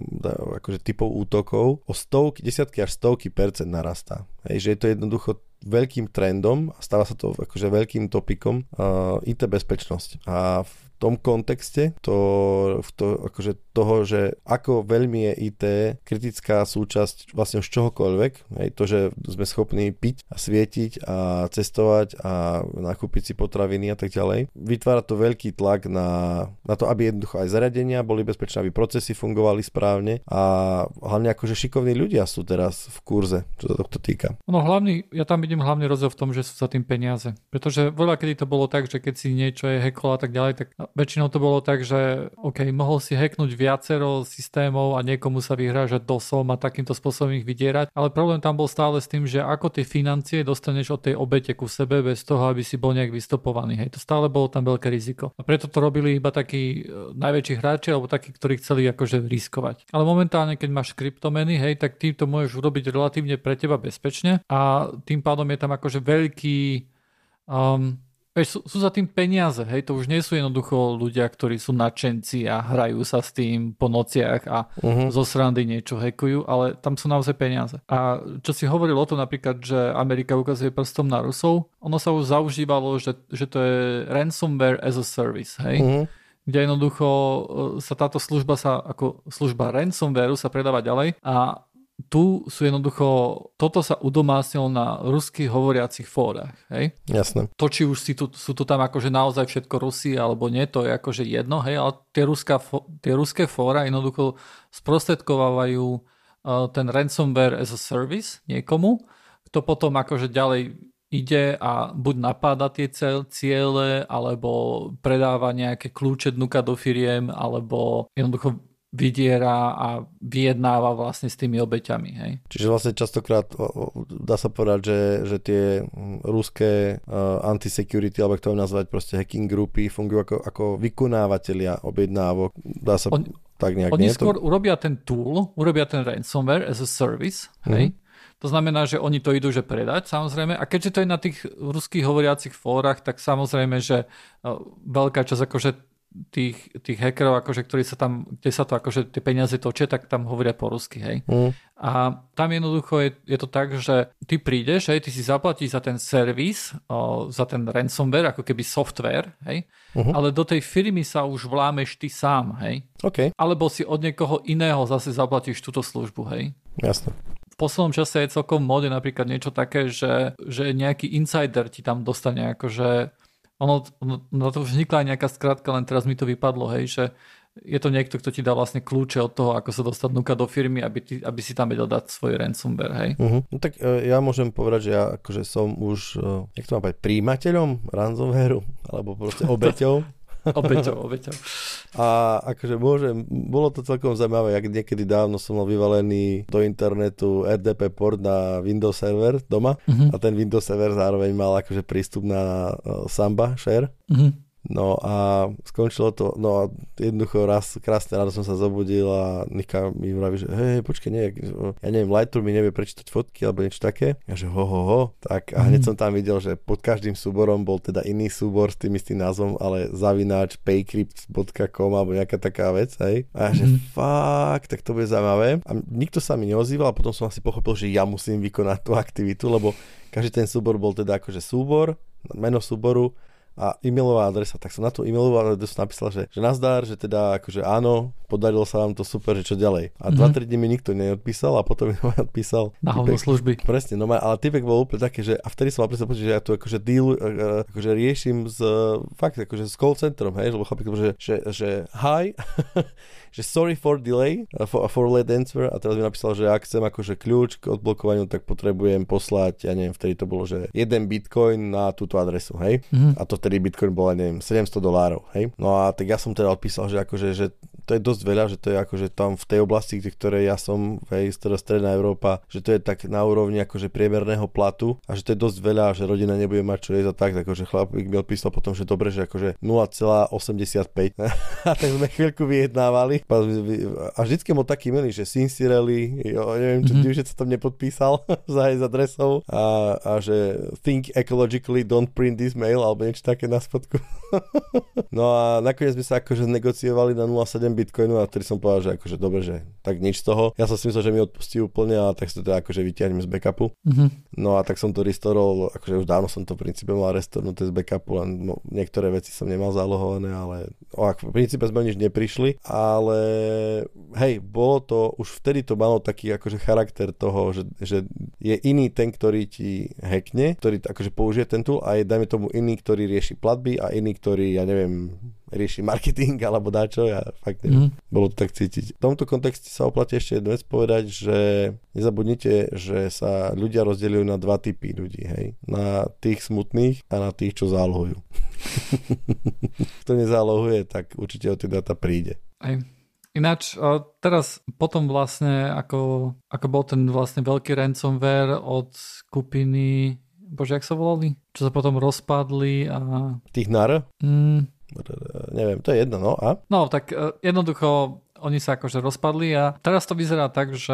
akože typov útokov o stovky, desiatky až stovky percent narastá. Hej, že je to jednoducho veľkým trendom a stáva sa to akože veľkým topikom uh, í té bezpečnosť. A v tom kontexte to, to, akože toho, že ako veľmi je í té kritická súčasť vlastne už čohokoľvek, hej, to, že sme schopní piť a svietiť a cestovať a nakúpiť si potraviny a tak ďalej, vytvára to veľký tlak na, na to, aby jednoducho aj zariadenia boli bezpečné, aby procesy fungovali správne a hlavne akože šikovní ľudia sú teraz v kurze, čo sa tohto týka. No hlavný, ja tam vidím hlavný rozdiel v tom, že sú za tým peniaze. Pretože veľa kedy to bolo tak, že keď si niečo je hacklo a tak ďalej, tak väčšinou to bolo tak, že OK, mohol si hacknúť viacero systémov a niekomu sa vyhrážať dosom a takýmto spôsobom ich vydierať, ale problém tam bol stále s tým, že ako tie financie dostaneš od tej obete ku sebe bez toho, aby si bol nejak vystopovaný. Hej, to stále bolo tam veľké riziko. A preto to robili iba takí najväčší hráči alebo takí, ktorí chceli akože riskovať. Ale momentálne, keď máš kryptomeny, hej, tak ty to môžeš urobiť relatívne pre teba bezpečne a tým pádom je tam akože veľký um, Sú, sú za tým peniaze, hej, to už nie sú jednoducho ľudia, ktorí sú nadšenci a hrajú sa s tým po nociach a uh-huh. zo srandy niečo hackujú, ale tam sú naozaj peniaze. A čo si hovoril o tom napríklad, že Amerika ukazuje prstom na Rusov, ono sa už zaužívalo, že, že to je ransomware as a service, hej, uh-huh. kde jednoducho sa táto služba sa, ako služba ransomwareu sa predáva ďalej a tu sú jednoducho, toto sa udomácnilo na ruských hovoriacich fórach, hej? Jasné. To, či už si tu, sú tu tam akože naozaj všetko Rusi, alebo nie, to je akože jedno, hej, ale tie, ruská, tie ruské fóra jednoducho sprostredkovávajú uh, ten ransomware as a service niekomu, kto potom akože ďalej ide a buď napáda tie ciele, alebo predáva nejaké kľúče dnuka do firiem, alebo jednoducho vydiera a vyjednáva vlastne s tými obeťami. Hej. Čiže vlastne častokrát dá sa povedať, že, že tie ruské uh, anti-security, alebo to nazvať proste hacking grupy, fungujú ako, ako vykonávateľia objednávok. Dá sa On, tak nejak... Oni nie? skôr to... urobia ten tool, urobia ten ransomware as a service, hej. Mm-hmm. To znamená, že oni to idú že predať, samozrejme. A keďže to je na tých ruských hovoriacich fórach, tak samozrejme, že uh, veľká časť akože tých, tých hackerov, akože, ktorí sa tam, kde sa to akože tie peniaze točia, tak tam hovoria po rusky, hej. Mm. A tam jednoducho je, je to tak, že ty prídeš, hej, ty si zaplatíš za ten servis, o, za ten ransomware, ako keby software, hej, uh-huh. ale do tej firmy sa už vlámeš ty sám, hej. Okay. Alebo si od niekoho iného zase zaplatíš túto službu, hej. Jasne. V poslednom čase je celkom v móde napríklad niečo také, že, že nejaký insider ti tam dostane akože Ono, na to už vznikla aj nejaká skratka, len teraz mi to vypadlo, hej, že je to niekto, kto ti dá vlastne kľúče od toho, ako sa dostať nuka do firmy, aby, ty, aby si tam vedel dať svoj ransomware, hej. Uh-huh. No tak uh, ja môžem povedať, že ja akože som už, uh, jak to mám povedať, príjimateľom ransomwareu, alebo proste obeťou. Obeťou, obeťou. A akože môžem, bolo to celkom zaujímavé, jak niekedy dávno som mal vyvalený do internetu er dé pé port na Windows server doma uh-huh. a ten Windows server zároveň mal akože prístup na uh, Samba share. Uh-huh. No a skončilo to, no a jednoducho raz, krásne ráno som sa zobudil a Nika mi vraví, že hej, počkej, nie, ja neviem, Lightroom mi nevie prečítať fotky alebo niečo také. Ja že ho, ho, ho, tak a hneď som tam videl, že pod každým súborom bol teda iný súbor s tým istým názvom, ale zavináč paycrypt bodka com alebo nejaká taká vec, hej. A ja že mm. fakt, tak to bude zaujímavé. A nikto sa mi neozýval a potom som asi pochopil, že ja musím vykonať tú aktivitu, lebo každý ten súbor bol teda akože súbor, meno súboru a e-mailová adresa, tak som na tú e-mailovú adresu napísal, že, že nazdar, že teda akože áno, podarilo sa vám to super, že čo ďalej. A dva tri mm-hmm. dní mi nikto neodpísal a potom mi odpísal na hovno služby. Presne, no ale typek bol úplne také, že a vtedy som mal presne pocit, že ja tu akože deal, akože riešim s, fakt akože s call centrom, hej, lebo chlapík, že, že, že hi, že sorry for delay, for, for late answer a teraz mi napísal, že ak chcem akože kľúč k odblokovaniu, tak potrebujem poslať, ja neviem, vtedy to bolo, že jeden bitcoin na túto adresu, hej. Mm-hmm. A to vtedy bitcoin bol, neviem, sedemsto dolárov, hej. No a tak ja som teda odpísal, že akože, že to je dosť veľa, že to je akože tam v tej oblasti, v ktorej ja som, hej, stredná Európa, že to je tak na úrovni akože priemerného platu a že to je dosť veľa, že rodina nebude mať čo jesť a tak, takže chlapík mi odpísal potom, že dobre, že akože nula celá osemdesiatpäť a tak sme chvíľku vyjednávali a vždycky bol taký milý, že sincerely, jo, neviem, čo mm-hmm. sa tam nepodpísal za aj adresou a, a že think ecologically, don't print this mail alebo niečo také na spodku. No a nakoniec sme sa akože negociovali na nula celá sedem bitcoinu a vtedy som povedal, že akože dobre, že tak nič z toho. Ja som si myslel, že mi odpustí úplne a tak sa to teda akože vyťahnem z backupu. Mm-hmm. No a tak som to restorol, akože už dávno som to v princípe mal restornuté z backupu, len no, niektoré veci som nemal zálohované, ale o, v princípe sme nič neprišli, ale hej, bolo to, už vtedy to malo taký akože charakter toho, že, že je iný ten, ktorý ti hackne, ktorý akože použije ten tool a je dajme tomu iný, ktorý rieši platby a iný, ktorý, ja neviem, rieši marketing alebo dáčo, ja fakt neviem. Mm. Bolo to tak cítiť. V tomto kontexte sa oplatí ešte jednu vec povedať, že nezabudnite, že sa ľudia rozdeľujú na dva typy ľudí, hej. Na tých smutných a na tých, čo zálohujú. Kto nezálohuje, tak určite o tie dáta príde. Aj. Ináč, teraz potom vlastne, ako, ako bol ten vlastne veľký ransomware od skupiny, bože, jak sa volali? Čo sa potom rozpadli a... Tých nar? Mm. Neviem, to je jedno, no a? No, tak jednoducho oni sa akože rozpadli a teraz to vyzerá tak, že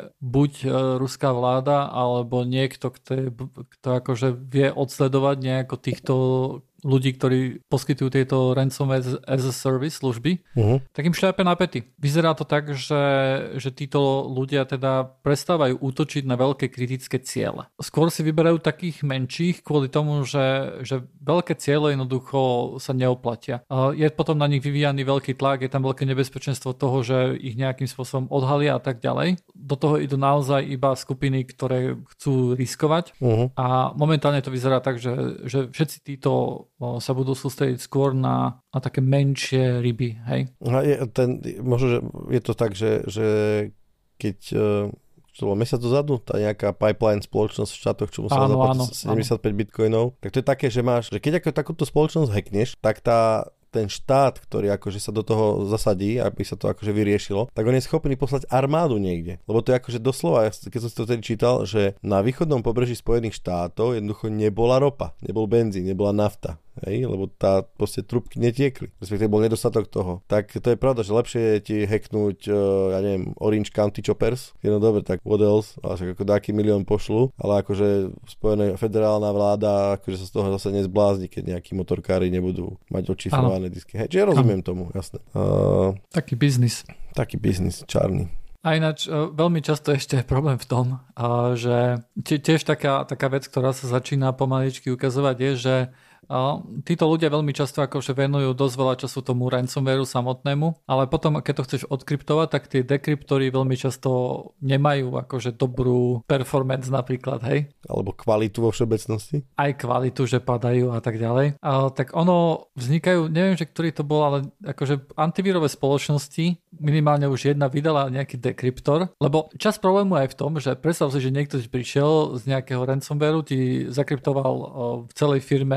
buď ruská vláda alebo niekto, kto, je, kto akože vie odsledovať nejako týchto ľudí, ktorí poskytujú tieto ransomware as a service služby, uh-huh. tak im šľape na pety. Vyzerá to tak, že, že títo ľudia teda prestávajú útočiť na veľké kritické ciele. Skôr si vyberajú takých menších kvôli tomu, že, že veľké ciele jednoducho sa neoplatia. Je potom na nich vyvíjaný veľký tlak, je tam veľké nebezpečenstvo toho, že ich nejakým spôsobom odhalia a tak ďalej. Do toho idú naozaj iba skupiny, ktoré chcú riskovať uh-huh. a momentálne to vyzerá tak, že, že všetci títo sa budú sústrediť skôr na, na také menšie ryby, hej? A je, ten, možno, že je to tak, že, že keď čo to bolo mesiac dozadu, tá nejaká pipeline spoločnosť v štátoch, čo musela áno, zaplatiť áno, sedemdesiatpäť áno. bitcoinov, tak to je také, že máš, že keď ako takúto spoločnosť hackneš, tak tá ten štát, ktorý akože sa do toho zasadí, aby sa to akože vyriešilo, tak on je schopný poslať armádu niekde. Lebo to je akože doslova, keď som si to tedy čítal, že na východnom pobreží Spojených štátov jednoducho nebola ropa, nebol benzín, nebola nafta. Hej, lebo tá proste trubky netiekli. Respektíve bol nedostatok toho. Tak to je pravda, že lepšie je ti hacknúť, uh, ja neviem, Orange County Choppers. Je no dobre, tak what else? Ale však ako dáky milión pošlu, ale akože spojená federálna vláda akože sa z toho zase nezblázni, keď nejakí motorkári nebudú mať odšifrované disky. Hej, čiže ja rozumiem tomu, jasné. Uh, taký biznis. Taký biznis, čarný. A ináč veľmi často ešte je problém v tom, že tiež taká, taká vec, ktorá sa začína pomaličky ukazovať, je, že títo ľudia veľmi často akože venujú dosť veľa času tomu ransomwareu samotnému, ale potom, keď to chceš odkryptovať, tak tie dekryptory veľmi často nemajú akože dobrú performance napríklad, hej? Alebo kvalitu vo všeobecnosti? Aj kvalitu, že padajú a tak ďalej. A, tak ono vznikajú, neviem, že ktorý to bol, ale akože antivírové spoločnosti, minimálne už jedna vydala nejaký dekryptor, lebo čas problému aj v tom, že predstav si, že niekto prišiel z nejakého ransomwareu, ti zakryptoval v celej firme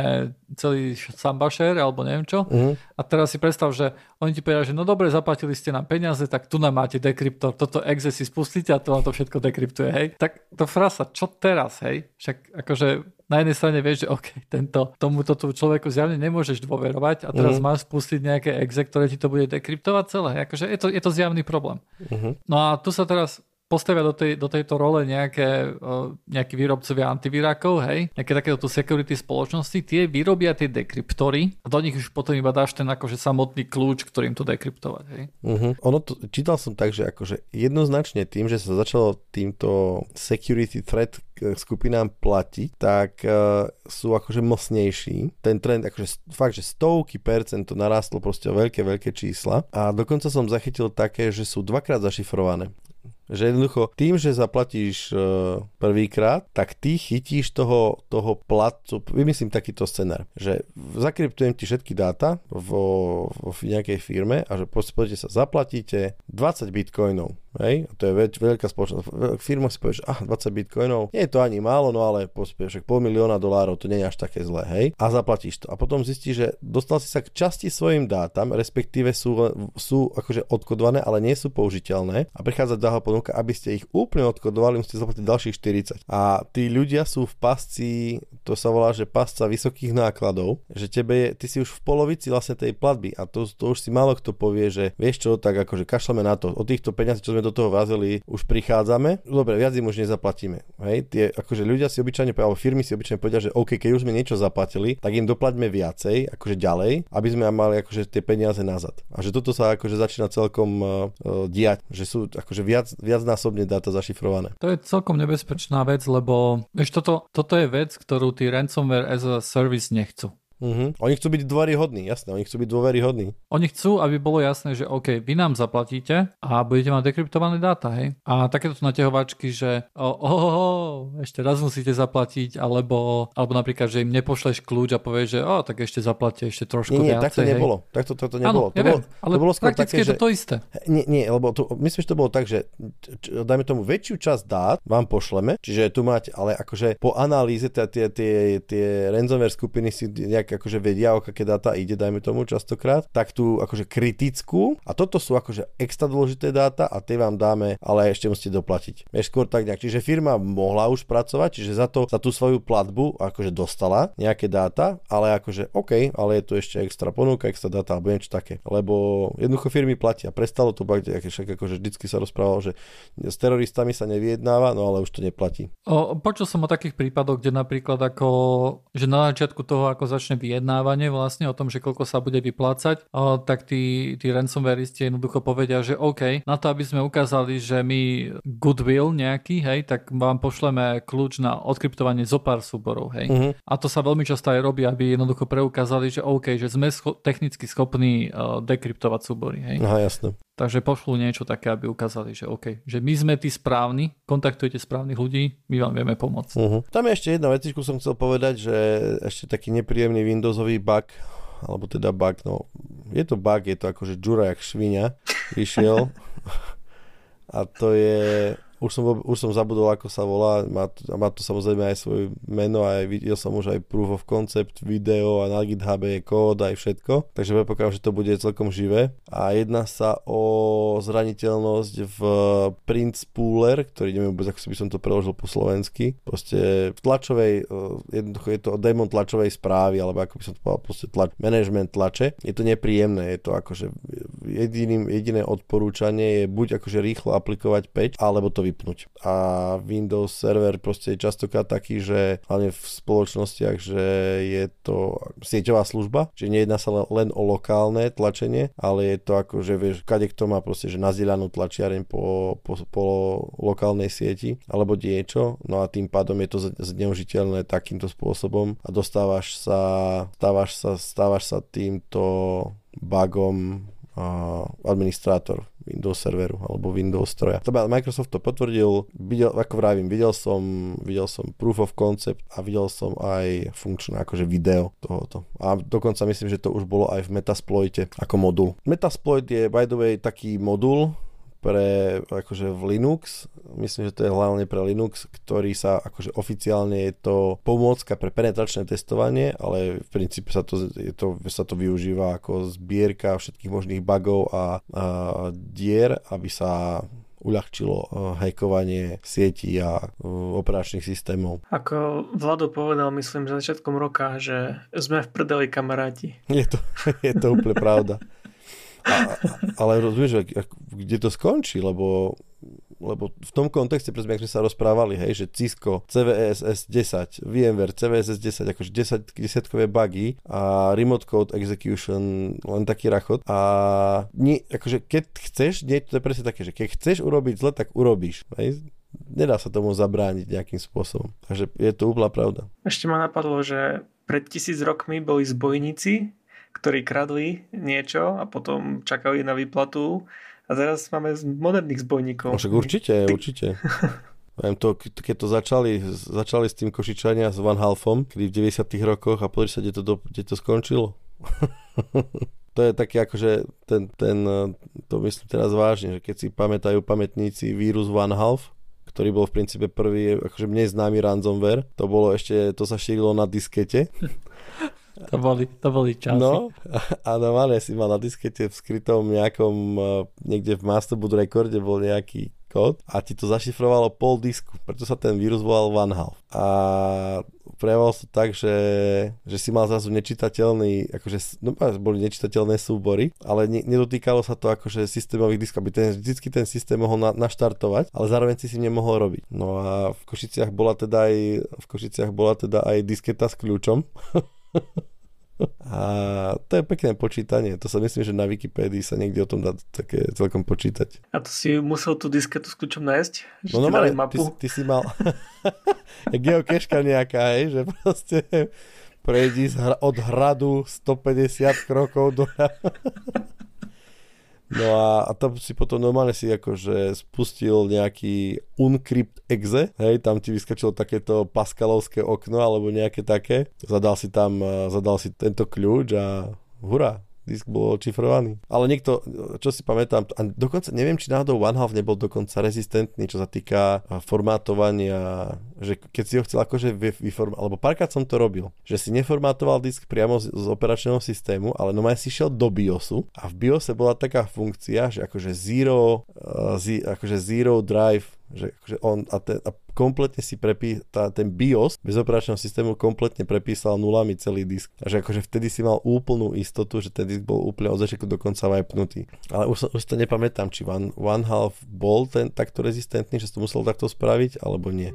celý sambašer, alebo neviem čo. Uh-huh. A teraz si predstav, že oni ti povedia, že no dobre, zaplatili ste nám peniaze, tak tu nám máte dekryptor, toto exe si spustíte a to vám to všetko dekryptuje, hej. Tak to frasa, čo teraz, hej? Však akože na jednej strane vieš, že OK, tento, tomuto tu človeku zjavne nemôžeš dôverovať a teraz uh-huh. máš spustiť nejaké exe, ktoré ti to bude dekryptovať celé. Akože je to, je to zjavný problém. Uh-huh. No a tu sa teraz postavia do, tej, do tejto role nejaké, uh, nejakí výrobcovia antivírakov, hej, nejaké takéto tu security spoločnosti, tie vyrobia tie dekryptory a do nich už potom iba dáš ten akože samotný kľúč, ktorým to dekryptovať, hej. Uh-huh. Ono to, čítal som tak, že akože jednoznačne tým, že sa začalo týmto security threat skupinám platiť, tak uh, sú akože mocnejší. Ten trend, akože fakt, že stovky percent to narástlo proste o veľké, veľké čísla a dokonca som zachytil také, že sú dvakrát zašifrované. Že jednoducho tým, že zaplatíš uh, prvýkrát, tak ty chytíš toho, toho platcu, vymyslím takýto scenár, že zakryptujem ti všetky dáta vo, vo nejakej firme a že poďte sa zaplatíte dvadsať bitcoinov. Hej, to je veľ, veľká spoločnosť. Firma si povie, že ah, dvadsať bitcoinov, nie je to ani málo, no ale pospieš, pol milióna dolárov, to nie je až také zlé, hej. A zaplatíš to. A potom zistíš, že dostal si sa k časti svojim dátam, respektíve sú, sú akože odkodované, ale nie sú použiteľné. A prichádza druhá ponuka, aby ste ich úplne odkodovali, musíte zaplatiť ďalších štyridsať. A tí ľudia sú v pasci, to sa volá, že pasca vysokých nákladov, že tebe je, ty si už v polovici vlastne tej platby a to, to už si málo kto povie, že vieš čo, tak akože kašleme na to. Od týchto peňazí, čo sme do toho vázeli, už prichádzame. Dobre, viac im už nezaplatíme. Hej, tie akože ľudia si obyčajne povedia, alebo firmy si obyčajne povedia, že OK, keď už sme niečo zaplatili, tak im doplaťme viacej, akože ďalej, aby sme mali akože tie peniaze nazad. A že toto sa akože začína celkom uh, diať, že sú akože viac, viacnásobne dáta zašifrované. To je celkom nebezpečná vec, lebo vieš, toto, toto je vec, ktorú tí ransomware as a service nechcú. Uh-huh. Oni chcú byť dôveryhodní, jasné, oni chcú byť dôveryhodní. Oni chcú, aby bolo jasné, že OK, vy nám zaplatíte a budete mať dekryptované dáta, hej. A takéto naťahovačky, že oh, oh, oh, ešte raz musíte zaplatiť, alebo, alebo napríklad, že im nepošleš kľúč a povieš, že oh, tak ešte zaplatíte ešte trošku nie, nie, viacej. Nie, tak to nebolo. Tak to, to, to nebolo. Áno, ja to viem, bolo, ale to bolo prakticky také, je to že... to isté. Nie, nie, lebo to, myslím, že to bolo tak, že č, dajme tomu väčšiu časť dát vám pošleme, čiže tu máte, ale akože po analýze tie, tie, tie, tie ransomware skupiny si nejak akože vedia, aké dáta ide, dajme tomu častokrát, tak tú akože kritickú a toto sú akože extra dôležité dáta a tie vám dáme, ale ešte musíte doplatiť. Vieš, skôr tak nejak. Čiže firma mohla už pracovať, čiže za to, za tú svoju platbu akože dostala nejaké dáta, ale akože OK, ale je tu ešte extra ponuka, extra dáta alebo niečo také. Lebo jednoducho firmy platia. Prestalo to bať, však akože vždycky sa rozprávalo, že s teroristami sa nevyjednáva, no ale už to neplatí. O, počul som o takých prípadoch, kde napríklad ako, že na začiatku toho, ako začne vyjednávanie vlastne o tom, že koľko sa bude vyplácať, o, tak tí, tí ransomwareisti jednoducho povedia, že OK, na to, aby sme ukázali, že my goodwill nejaký, hej, tak vám pošleme kľúč na odkryptovanie zo pár súborov, hej. Uh-huh. A to sa veľmi často aj robí, aby jednoducho preukázali, že OK, že sme scho- technicky schopní uh, dekryptovať súbory, hej. Aha, jasné. Takže pošlú niečo také, aby ukázali, že OK, že my sme tí správni, kontaktujete správnych ľudí, my vám vieme pomôcť. Uh-huh. Tam je ešte jedna vecičku, som chcel povedať, že ešte taký nepríjemný Windowsový bug, alebo teda bug, no je to bug, je to akože džura jak šviňa, vyšiel a to je... Už som, už som zabudol, ako sa volá, má to, má to samozrejme aj svoje meno a aj videl som už aj proof of concept, video a na GitHub je kód aj všetko, takže predpokladám, že to bude celkom živé. A jedná sa o zraniteľnosť v print spooler, ktorý neviem vôbec, ako by som to preložil po slovensky, proste v tlačovej, jednoducho je to démon tlačovej správy, alebo ako by som to povedal, proste tlač, management tlače. Je to nepríjemné, je to akože jediným, jediné odporúčanie je buď akože rýchlo aplikovať patch, alebo to vypnúť. A Windows server proste je častokrát taký, že hlavne v spoločnostiach, že je to sieťová služba, čiže nejedná sa len o lokálne tlačenie, ale je to ako, že vieš, kade kto má proste, že nazdieľanú tlačiareň po, po, po lokálnej sieti, alebo niečo, no a tým pádom je to zneužiteľné takýmto spôsobom a dostávaš sa, stávaš sa, stávaš sa týmto bugom a administrátor Windows serveru alebo Windows stroja. Microsoft to potvrdil, videl, ako vravím, videl som, videl som proof of concept a videl som aj funkčné akože video tohoto. A dokonca myslím, že to už bolo aj v Metasploite ako modul. Metasploit je by the way taký modul pre akože v Linux, myslím, že to je hlavne pre Linux, ktorý sa akože oficiálne je to pomôcka pre penetračné testovanie, ale v princípe sa to, je to, sa to využíva ako zbierka všetkých možných bugov a, a dier, aby sa uľahčilo hackovanie sietí a operačných systémov. Ako Vlado povedal, myslím, že začiatkom roka, že sme v prdeli, kamaráti. Je to, je to úplne pravda. A, ale rozumieš, kde to skončí, lebo, lebo v tom kontexte, presne, ak sme sa rozprávali, hej, že Cisco, cé vé es es desať, VMware, cé vé es es desať, akože desať, desiatkové bugy a remote code execution, len taký rachot. A nie, akože keď chceš, nie, to je presne také, že keď chceš urobiť zle, tak urobíš, hej. Nedá sa tomu zabrániť nejakým spôsobom. Takže je to úplná pravda. Ešte ma napadlo, že pred tisíc rokmi boli zbojníci, ktorí kradli niečo a potom čakali na výplatu. A teraz máme moderných zbojníkov. No, však určite, Ty... určite. Viem to, keď to začali, začali s tým Košičania s Van Halfom, kedy v deväťdesiatych rokoch a pozri sa, kde to, do, kde to skončilo. To je také akože ten, ten, to myslím teraz vážne, že keď si pamätajú pamätníci vírus Van Half, ktorý bol v princípe prvý, akože mne známy ransomware, to bolo ešte, to sa šírilo na diskete. To boli, to boli časy. No, a normálne si mal na diskete v skrytom nejakom, niekde v Masterboot rekorde bol nejaký kód a ti to zašifrovalo pol disku, preto sa ten vírus volal Van Half. A prejavovalo sa tak, že, že si mal zrazu nečitateľný, akože, no boli nečitateľné súbory, ale ne, nedotýkalo sa to akože systémových diskov, aby ten, vždycky ten systém mohol na, naštartovať, ale zároveň si si nemohol robiť. No a v Košiciach bola teda aj, v Košiciach bola teda aj disketa s kľúčom. A to je pekné počítanie. To sa myslím, že na Wikipédii sa niekde o tom dá také celkom počítať. A to si musel tú disketu s kľúčom nájsť? Že no normálne, ty, ty si mal geocache nejaká, hej, že proste prejdi od hradu stopäťdesiat krokov do... No a, a tam si potom normálne si akože spustil nejaký uncrypt exe, hej, tam ti vyskočilo takéto Pascalovské okno alebo nejaké také, zadal si tam, zadal si tento kľúč a hurá, disk bol očifrovaný. Ale niekto, čo si pamätám, a dokonca neviem, či náhodou OneHalf nebol dokonca rezistentný, čo sa týka formátovania, že keď si ho chcel akože vyformovať, alebo párkrát som to robil, že si neformátoval disk priamo z, z operačného systému, ale normálne si šiel do BIOSu a v BIOSe bola taká funkcia, že akože zero, uh, z, akože zero drive, že akože on a, ten, a kompletne si prepí, tá, ten BIOS bez operačného systému kompletne prepísal nulami celý disk. A že akože vtedy si mal úplnú istotu, že ten disk bol úplne od začiatku do konca wipenutý. Ale už, už to nepamätám, či One, OneHalf bol ten takto rezistentný, že si to musel takto spraviť, alebo nie.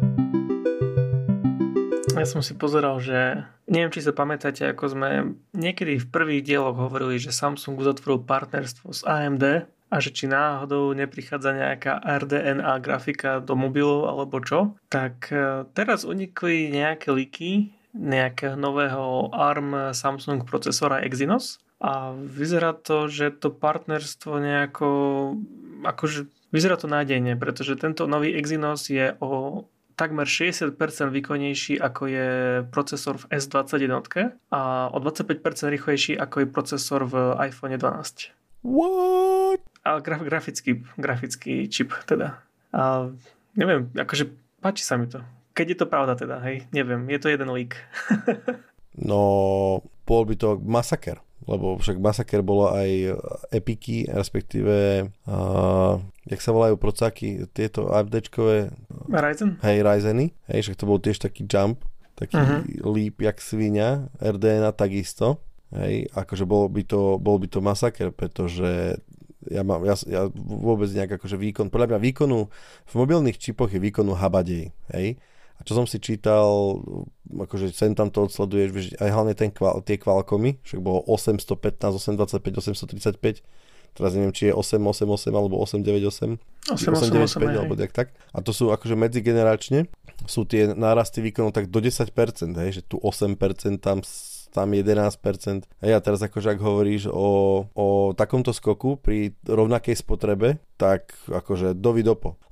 Ja som si pozeral, že neviem, či sa pamätáte, ako sme niekedy v prvých dieloch hovorili, že Samsung uzatvoril partnerstvo s á em dé a že či náhodou neprichádza nejaká er dé en á grafika do mobilov alebo čo, tak teraz unikli nejaké líky nejakého nového á er em Samsung procesora Exynos a vyzerá to, že to partnerstvo nejako akože vyzerá to nádejne, pretože tento nový Exynos je o takmer šesťdesiat percent výkonnejší ako je procesor v es dvadsaťjeden a o dvadsaťpäť percent rýchlejší ako je procesor v iPhone dvanásť. What? Ale graf, grafický, grafický čip teda. A neviem, akože páči sa mi to. Keď je to pravda teda, hej, neviem, je to jeden leak. No, bol by to masaker, lebo však masaker bolo aj Epiky, respektíve uh, jak sa volajú procáky, tieto AMDčkové Ryzen? Hej, Ryzeny, hej, však to bol tiež taký jump, taký uh-huh. leap jak svinia, er dé en a takisto. Hej, akože bol by to, bol by to masaker, pretože ja mám, ja, ja vôbec nejak akože výkon, podľa mňa výkonu, v mobilných čipoch je výkonu habadej, hej. A čo som si čítal, akože sem tam to odsleduješ, vieš, aj hlavne ten kval, tie Qualcommy, však bolo osemstopätnásť, osemstodvadsaťpäť, osemstotridsaťpäť, teraz neviem, či je osem osem osem alebo osem deväť osem, osem osem osem alebo tak, tak. A to sú akože medzigeneračne, sú tie nárasty výkonu tak do desať percent, hej, že tu osem percent, tam tam jedenásť percent. Hej, a teraz akože ak hovoríš o, o takomto skoku pri rovnakej spotrebe, tak akože dovidopo. Lebo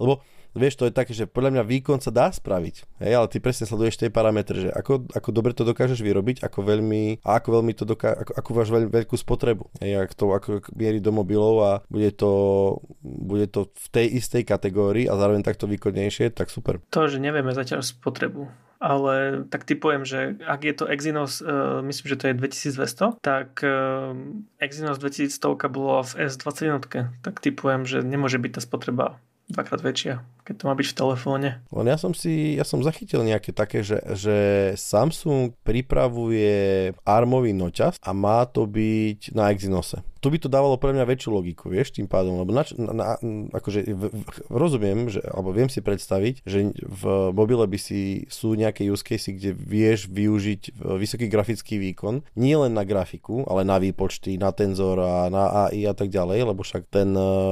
vieš, to je také, že podľa mňa výkon sa dá spraviť, hej, ale ty presne sleduješ tie parametre, že ako, ako dobre to dokážeš vyrobiť, ako veľmi, a ako veľmi to doká, ako, ako máš veľ, veľkú spotrebu, hej, ako to ako mierí do mobilov a bude to, bude to v tej istej kategórii a zároveň takto výkonnejšie, tak super. To, že nevieme zatiaľ spotrebu, ale tak typujem, že ak je to Exynos, uh, myslím, že to je dvetisícdvesto, tak uh, Exynos dvetisícsto bolo v es dvadsať jeden, tak typujem, že nemôže byť tá spotreba dvakrát väčšia, keď to má byť v telefóne. Len ja som si, ja som zachytil nejaké také, že, že Samsung pripravuje armový noťaz a má to byť na Exynose. Tu by to dávalo pre mňa väčšiu logiku, vieš, tým pádom, lebo na, na, akože v, v, rozumiem, že, alebo viem si predstaviť, že v mobile by si sú nejaké use case, kde vieš využiť vysoký grafický výkon, nie len na grafiku, ale na výpočty, na tenzor a na á í a tak ďalej, lebo však ten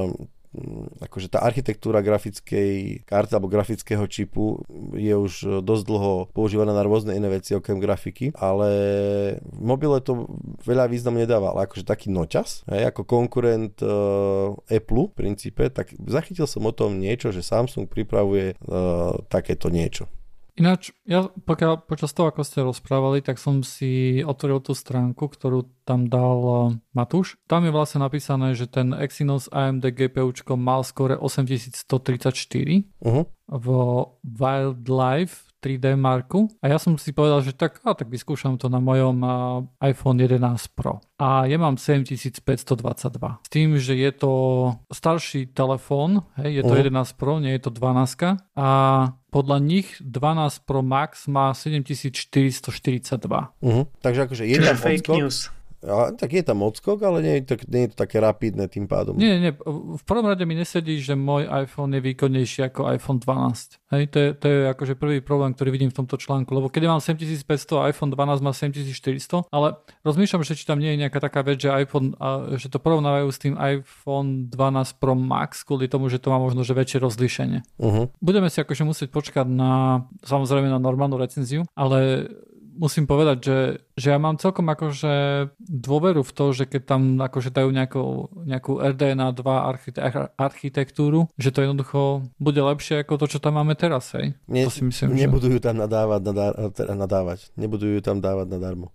akože tá architektúra grafickej karty alebo grafického čipu je už dosť dlho používaná na rôzne iné veci okrem grafiky, ale v mobile to veľa významu nedáva, ale akože taký noťaz, hej, ako konkurent uh, Apple v princípe, tak zachytil som o tom niečo, že Samsung pripravuje uh, takéto niečo. Ináč, ja pokiaľ, počas toho, ako ste rozprávali, tak som si otvoril tú stránku, ktorú tam dal Matúš. Tam je vlastne napísané, že ten Exynos á em dé GPUčko mal skóre osemtisícstotridsaťštyri uh-huh. v Wildlife tri dé Marku a ja som si povedal, že tak, a tak vyskúšam to na mojom uh, iPhone jedenásť Pro. A ja mám sedemtisícpäťstodvadsaťdva. S tým, že je to starší telefón, hej, je to uh-huh. jedenásť Pro, nie je to dvanásť a podľa nich dvanásť Pro Max má sedemtisícštyristoštyridsaťdva. Uh-huh. Takže akože je tam fake odskok, news. A, tak je tam odskok, ale nie je, to, nie je to také rapidné tým pádom. Nie, nie, v prvom rade mi nesedí, že môj iPhone je výkonnejší ako iPhone dvanásť. Hej, to je, to je akože prvý problém, ktorý vidím v tomto článku, lebo keď mám sedemtisícpäťsto a iPhone dvanásť má sedemtisícštyristo, ale rozmýšľam, že či tam nie je nejaká taká vec, že iPhone, a, že to porovnávajú s tým iPhone dvanásť Pro Max kvôli tomu, že to má možno že väčšie rozlíšenie. Uh-huh. Budeme si akože musieť počkať na, samozrejme na normálnu recenziu, ale musím povedať, že, že ja mám celkom akože dôveru v to, že keď tam akože dajú nejakú, nejakú er dé en á dva archite- architektúru, že to jednoducho bude lepšie ako to, čo tam máme teraz, hej? Ne, to si myslím, nebudujú že... tam nadávať, nadá, teda nadávať. Nebudujú tam dávať nadarmo.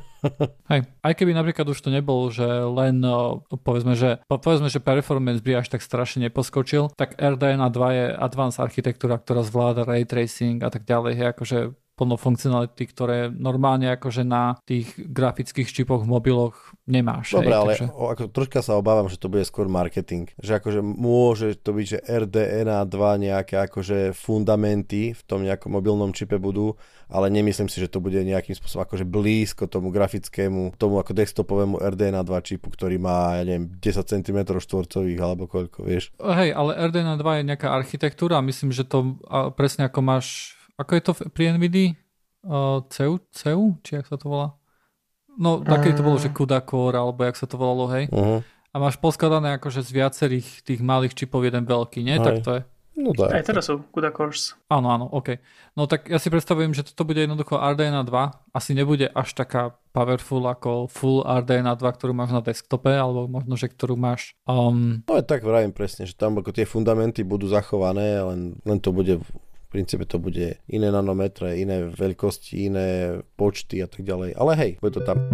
Hej, aj keby napríklad už to nebol, že len povedzme, že, povedzme, že performance by až tak strašne neposkočil, tak er dé en á dva je advanced architektúra, ktorá zvláda ray tracing a tak ďalej, hej, akože plno funkcionality, ktoré normálne akože na tých grafických čipoch v mobiloch nemáš. Dobre, hej, ale takže... o, ako, troška sa obávam, že to bude skôr marketing. Že akože môže to byť, že er dé en á dva nejaké akože fundamenty v tom nejakom mobilnom čipe budú, ale nemyslím si, že to bude nejakým spôsobom akože blízko tomu grafickému, tomu ako desktopovému er dé en á dva čipu, ktorý má, ja neviem, desať centimetrov štvorcových alebo koľko, vieš. Hej, ale er dé en á dva je nejaká architektúra a myslím, že to presne ako máš. Ako je to pri NVIDII? Uh, C E U? C E U? Či jak sa to volá? No, také to bolo, že CUDA Core, alebo jak sa to volalo, hej? Uh-huh. A máš poskladané akože z viacerých tých malých čipov jeden veľký, nie? Aj. Tak to je. No tak. Aj teraz sú CUDA Cores. Áno, áno, OK. No tak ja si predstavujem, že toto bude jednoducho er dé en á dva. Asi nebude až taká powerful ako full er dé en á dva, ktorú máš na desktope, alebo možno, že ktorú máš... Um... No je tak vravím presne, že tam ako tie fundamenty budú zachované, len, len to bude... V princípe to bude iné nanometre, iné veľkosti, iné počty a tak ďalej. Ale hej, bude to tam.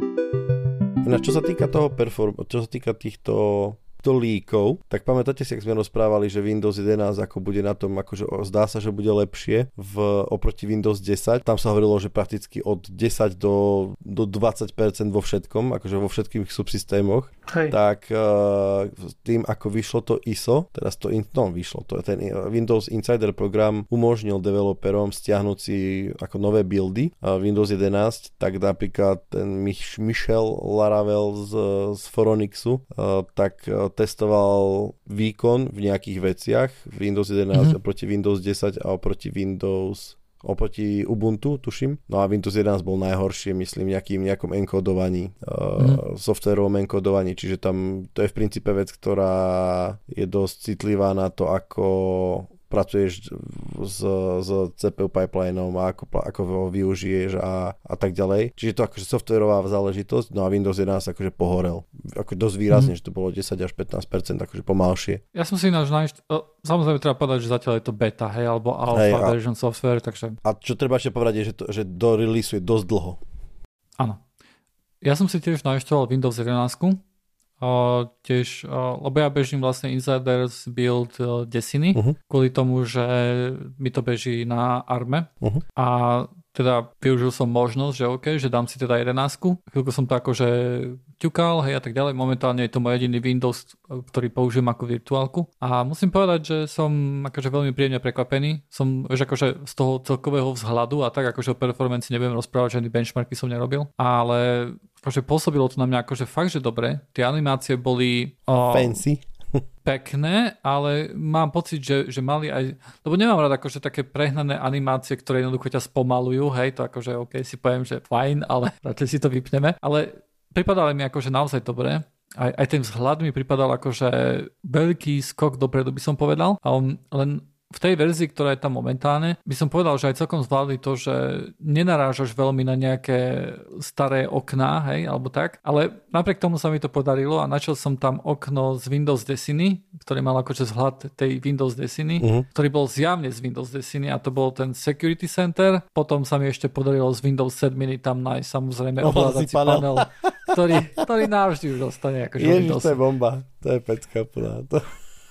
Ináč, čo sa týka toho perform, čo sa týka týchto to líkov, tak pamätáte si, ak sme rozprávali, že Windows jedenásť ako bude na tom, akože zdá sa, že bude lepšie v, oproti Windows desať. Tam sa hovorilo, že prakticky od desať do, do dvadsať percent vo všetkom, akože vo všetkých subsystémoch. Hej. Tak uh, tým, ako vyšlo to í es o, teraz to, in, no vyšlo to, ten Windows Insider program umožnil developerom stiahnuť si ako nové buildy uh, Windows jedenásť, tak napríklad ten Mich- Michel Laravel z, z Phoronixu, uh, tak uh, testoval výkon v nejakých veciach Windows jedenásť mm-hmm. oproti Windows desať a oproti Windows oproti Ubuntu, tuším. No a Windows jedenásť bol najhoršie, myslím, nejakým nejakom enkodovaní, mm-hmm. uh, softwarovom enkodovaní, čiže tam to je v princípe vec, ktorá je dosť citlivá na to, ako pracuješ s, s cé pé ú pipelineom a ako, ako ho využiješ a, a tak ďalej. Čiže to akože softwarová záležitosť, no a Windows jedenásť akože pohorel. Ako dosť výrazne, mm. že to bolo desať až pätnásť percent akože pomalšie. Ja som si ináč nájsť, samozrejme treba povedať, že zatiaľ je to beta, hej, alebo alpha hej, a, version software, takže... A čo treba ešte povedať je, že, to, že do release je dosť dlho. Áno. Ja som si tiež nainštaloval Windows jedenásť, Uh, tiež, uh, lebo ja bežím vlastne Insiders build uh, Destiny, uh-huh. kvôli tomu, že mi to beží na Arme uh-huh. a teda využil som možnosť, že OK, že dám si teda jedenásku. Chvíľko som to akože ťukal, hej a tak ďalej. Momentálne je to môj jediný Windows, ktorý použijem ako virtuálku. A musím povedať, že som akože veľmi príjemne prekvapený. Som, vieš, akože z toho celkového vzhľadu a tak akože o performance nebudem rozprávať, žiadny benchmarky som nerobil. Ale akože pôsobilo to na mňa akože fakt, že dobre. Tie animácie boli... Oh, fancy. Pekné, ale mám pocit, že, že mali aj... Lebo nemám rád akože také prehnané animácie, ktoré jednoducho ťa spomalujú, hej, to akože OK, si poviem, že fajn, ale radšej si to vypneme. Ale pripadali mi akože naozaj dobre. Aj, aj ten vzhľad mi pripadal akože veľký skok dopredu, by som povedal. Um, len v tej verzii, ktorá je tam momentálne, by som povedal, že aj celkom zvládli to, že nenarážaš veľmi na nejaké staré okná, hej, alebo tak, ale napriek tomu sa mi to podarilo a našiel som tam okno z Windows Destiny, ktorý mal akože vzhľad tej Windows Destiny, uh-huh. ktorý bol zjavne z Windows Destiny a to bol ten Security Center. Potom sa mi ešte podarilo z Windows sedem tam nájsť samozrejme ovládací panel, panel ktorý, ktorý navždy už dostane akože Ježiš, Windows. to je bomba, to je pecka plná. To...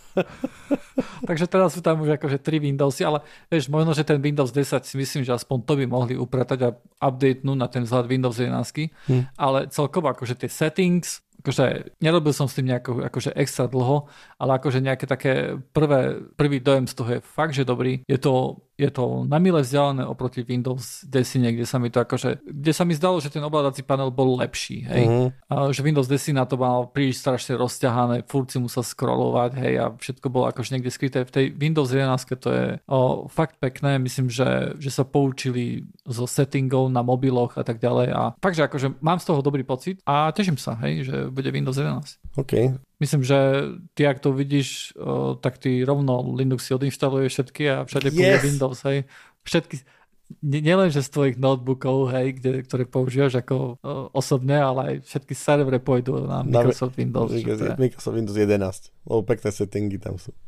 Takže teraz sú tam už akože tri Windowsy, ale vieš, možno, že ten Windows desať si myslím, že aspoň to by mohli upratať a updatenúť na ten vzhľad Windows jedenásť, hmm. ale celkovo akože tie settings, akože nerobil som s tým nejako akože extra dlho, ale akože nejaké také prvé, prvý dojem z toho je fakt, že dobrý. Je to, je to na mile vzdialené oproti Windows desať, kde sa mi to akože, kde sa mi zdalo, že ten ovládací panel bol lepší, hej. Uh-huh. A že Windows desať na to mal príliš strašne rozťahané, furt si musel scrollovať, hej, a všetko bolo akože niekde skryté. V tej Windows jedenásť to je o, fakt pekné, myslím, že, že sa poučili zo settingov na mobiloch a tak ďalej a fakt, že akože mám z toho dobrý pocit a teším sa, hej, že bude Windows jedenásť. OK. Myslím, že ty, ak to vidíš, o, tak ty rovno Linux si odinštaluješ všetky a všade pôjde yes. Windows, hej. Všetky, nielen, že z tvojich notebookov, hej, kde, ktoré používaš ako o, osobne, ale aj všetky servery pôjdu na Microsoft na, Windows. Microsoft, Microsoft Windows jedenásť, lebo pekné settingy tam sú.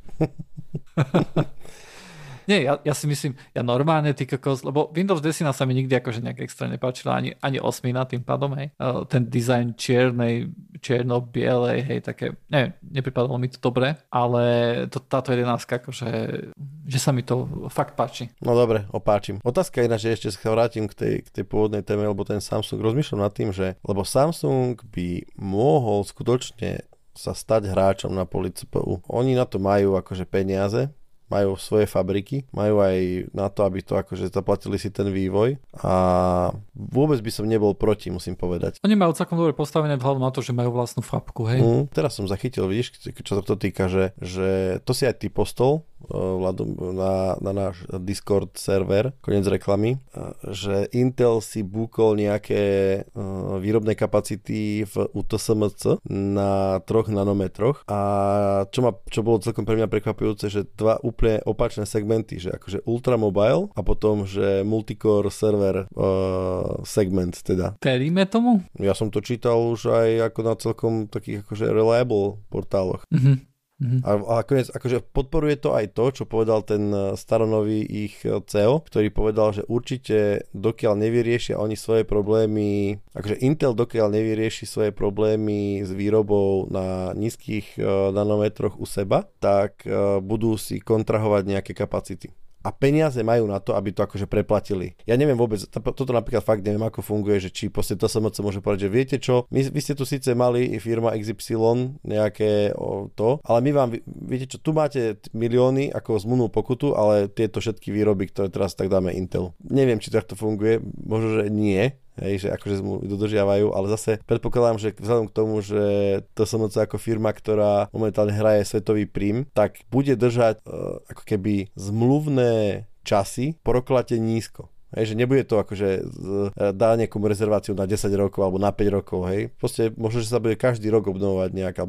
Nie, ja, ja si myslím, ja normálne ty kokos, lebo Windows desať sa mi nikdy akože nejak extra nepáčila, ani, ani osmina tým pádom, hej. Ten dizajn čiernej, čierno-bielej, hej, také, neviem, nepripadalo mi to dobre, ale to, táto jedenástka, akože, že sa mi to fakt páči. No dobre, opáčim. Otázka je, že ešte sa vrátim k tej, k tej pôvodnej téme, lebo ten Samsung, rozmýšľam nad tým, že, lebo Samsung by mohol skutočne sa stať hráčom na poli cé pé ú. Oni na to majú akože peniaze, majú svoje fabriky, majú aj na to, aby to akože zaplatili si ten vývoj a vôbec by som nebol proti, musím povedať. Oni majú celkom dobre postavené vzhľadom na to, že majú vlastnú fabku, hej? Mm, teraz som zachytil, vidíš, čo sa to týka, že, že to si aj ty postol na, na náš Discord server, koniec reklamy, že Intel si búkol nejaké výrobné kapacity v U T S M C na troch nanometroch a čo, ma, čo bolo celkom pre mňa prekvapujúce, že dva úplne opačné segmenty, že akože ultramobile a potom, že multicore server uh, segment teda. Veríme tomu? Ja som to čítal už aj ako na celkom takých akože reliable portáloch. Mhm. Mm-hmm. A, a nakoniec akože podporuje to aj to, čo povedal ten staronový ich cé e o, ktorý povedal, že určite dokiaľ nevyriešia oni svoje problémy, akože Intel dokiaľ nevyrieši svoje problémy s výrobou na nízkych uh, nanometroch u seba, tak uh, budú si kontrahovať nejaké kapacity. A peniaze majú na to, aby to akože preplatili. Ja neviem vôbec, toto napríklad fakt neviem, ako funguje, že či proste té es em cé môže povedať, že viete čo, my, vy ste tu síce mali firma iks ypsilon nejaké o, to, ale my vám, viete čo, tu máte milióny ako zmluvnú pokutu, ale tieto všetky výroby, ktoré teraz tak dáme Intelu. Neviem, či to takto funguje, možno, že nie. Hej, že akože zmluvy dodržiavajú, ale zase predpokladám, že vzhľadom k tomu, že té es em cé ako firma, ktorá momentálne hraje svetový prím, tak bude držať uh, ako keby zmluvné časy po roklate nízko. Hej, že nebude to akože dá nejakú rezerváciu na desať rokov alebo na päť rokov, hej. Proste možno, že sa bude každý rok obnovovať nejak, alebo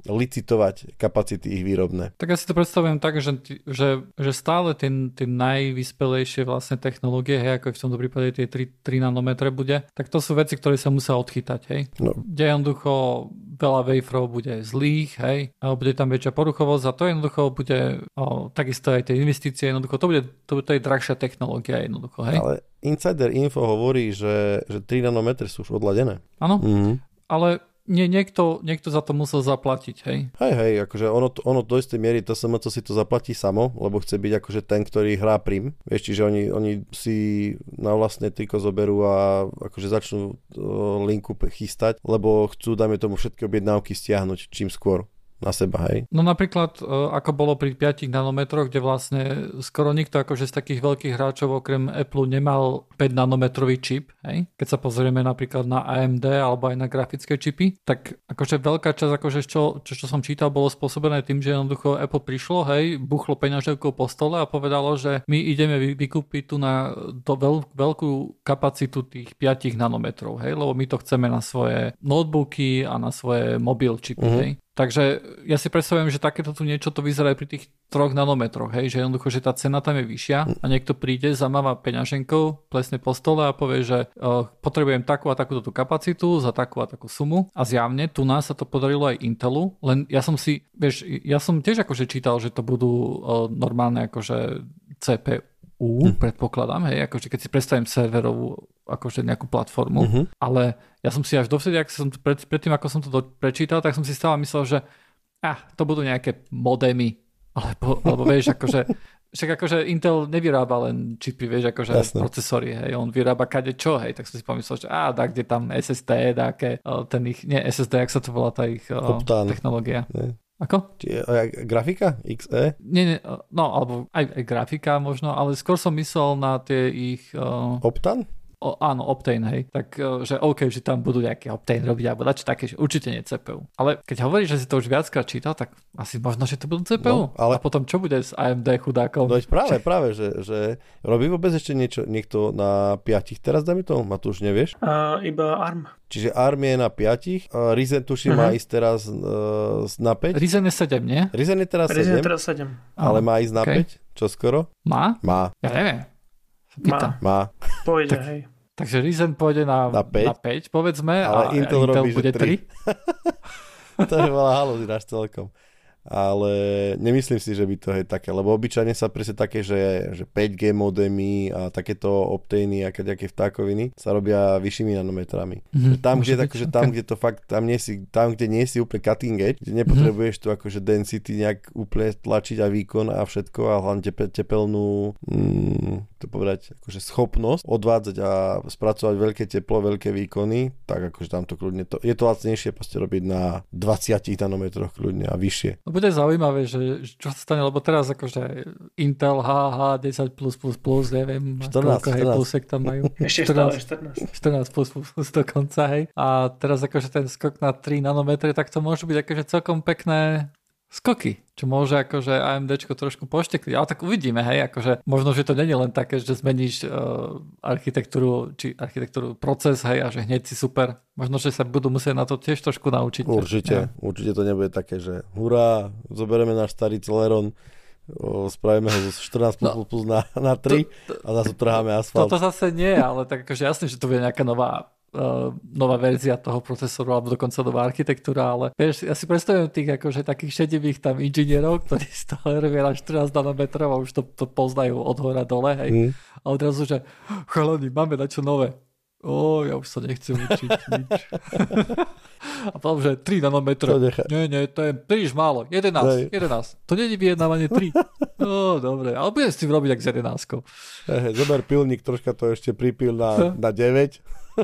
licitovať kapacity ich výrobné. Tak ja si to predstavujem tak, že, že, že stále tie, tie najvyspelejšie vlastne technológie, hej, ako v tomto prípade tie tri nanometre bude, tak to sú veci, ktoré sa musia odchytať, hej. No. Kde jednoducho veľa waferov bude zlých, hej, a bude tam väčšia poruchovosť a to jednoducho bude o, takisto aj tie investície, jednoducho to bude, to, to je drahšia technológia jednoducho, hej. Ale Insider Info hovorí, že, že tri nanometre sú už odladené. Áno, mhm. ale nie, niekto, niekto za to musel zaplatiť, hej? Hej, hej, akože ono, ono do istej miery to es em cé si to zaplatí samo, lebo chce byť akože ten, ktorý hrá prim. Vieš, čiže oni, oni si na vlastné triko zoberú a akože začnú linku chystať, lebo chcú, dajme tomu, všetky objednávky stiahnuť čím skôr na seba, hej? No napríklad, ako bolo pri piatich nanometroch, kde vlastne skoro nikto akože z takých veľkých hráčov okrem Apple nemal päť nanometrový čip, hej? Keď sa pozrieme napríklad na á em dé alebo aj na grafické čipy, tak akože veľká časť, akože čo, čo, čo som čítal, bolo spôsobené tým, že jednoducho Apple prišlo, hej, buchlo peňaževkou po stole a povedalo, že my ideme vykúpiť tu na do veľ, veľkú kapacitu tých piatich nanometrov, hej? Lebo my to chceme na svoje notebooky a na svoje mobil čipy, mm-hmm. hej? Takže ja si predstavujem, že takéto tu niečo to vyzerá aj pri tých troch nanometroch, hej, že jednoducho, že tá cena tam je vyššia a niekto príde, zamáva peňaženkou, plesne po stole a povie, že uh, potrebujem takú a takúto tú kapacitu za takú a takú sumu a zjavne tu nás sa to podarilo aj Intelu, len ja som si, vieš, ja som tiež akože čítal, že to budú uh, normálne akože cé pé ú, hm. predpokladám, hej, akože keď si predstavím serverovú akože nejakú platformu, uh-huh. ale ja som si až dovtedy, ak som to pred, predtým, ako som to do, prečítal, tak som si stále myslel, že ah, to budú nejaké modemy, alebo, alebo vieš, akože však akože Intel nevyrába len čipy, vieš, akože Jasne. procesory, hej, on vyrába kade čo, hej, tak som si pomyslel, že á, dá, kde tam es es dé, dáke, ten ich, nie es es dé, jak sa to volá tá ich Optán. Technológia. Nie. Ako? Či, grafika? iks é? Nie, nie, no, alebo aj, aj grafika možno, ale skôr som myslel na tie ich... Uh... Optán? O, áno, Optane, hej. Tak, že OK, že tam budú nejaké Optane robiť, alebo dačo také, že určite nie cé pé ú. Ale keď hovoríš, že si to už viackrát čítal, tak asi možno, že to budú cé pé ú. No, ale... A potom čo bude s á em dé chudákom? No práve, práve, že, že robí vôbec ešte niečo niekto na piatich teraz, dajme to? Matúš, nevieš? Uh, iba ARM. Čiže ARM je na piatich, uh, Ryzen tuším uh-huh. má ísť teraz uh, na päť. Ryzen je sedem, nie? Ryzen je teraz Ryzen sedem, je teraz sedem. Ale má ísť na okay. päť, čo skoro? Má? Má. Ja neviem. Má. Má. Pôjde, tak... hej. Takže Ryzen pôjde na, na, päť. na päť, povedzme, ale a Intel, Intel robí, bude tri. To je veľa halúzináš celkom. Ale nemyslím si, že by to je také, lebo obyčajne sa presne také, že, že päť gé modemy a takéto Optany a kadejaké vtákoviny sa robia vyššími nanometrami. Mm-hmm. Tam, kde, takže, tam, kde to fakt, tam, nie si, tam, kde nie si úplne cutting edge, kde nepotrebuješ tu akože density nejak úplne tlačiť a výkon a všetko a hlavne tepe, tepelnú mm, to povedať, akože schopnosť odvádzať a spracovať veľké teplo, veľké výkony, tak akože tam to kľudne, to, je to lacnejšie proste robiť na dvadsiatich nanometroch kľudne a vyššie. Bude zaujímavé, že čo sa stane, lebo teraz akože Intel há há desať plus plus plus, neviem, štrnásť, koľko hej, plusek tam majú. Ešte štrnásť, štrnásť. štrnásť plus plus plus dokonca, hej. A teraz akože ten skok na tri nanometre, tak to môžu byť akože celkom pekné skoky, čo môže akože AMDčko trošku poštekliť. Ale tak uvidíme, hej, akože možno, že to nie je len také, že zmeníš uh, architektúru, či architektúru proces, hej, a že hneď si super. Možno, že sa budú musieť na to tiež trošku naučiť. Určite, ja. určite to nebude také, že hurá, zoberieme náš starý Celeron, o, spravíme ho zo štrnásť plus, no, plus na, na tri to, to, a zase trháme asfalt. Toto zase nie, ale tak akože jasné, že to bude nejaká nová Uh, nová verzia toho procesoru alebo dokonca nová architektúra, ale vieš, ja si predstavujem tých akože takých šedivých tam inžinierov, ktorí stále robia na štrnásť nanometrov a už to, to poznajú od hora dole, hej. Mm. A odrazu, že chalani, máme na čo nové. Ó, ja už sa nechcem učiť nič. A potom, že tri nanometre. Nie, nie, to je príliš málo. jedenásť, jedenásť. To nie je vyjednávanie tri. No, dobre, ale budem s tým robiť ak s jedenáskou. Hey, zober pilník, troška to ešte pripil na, na deväť.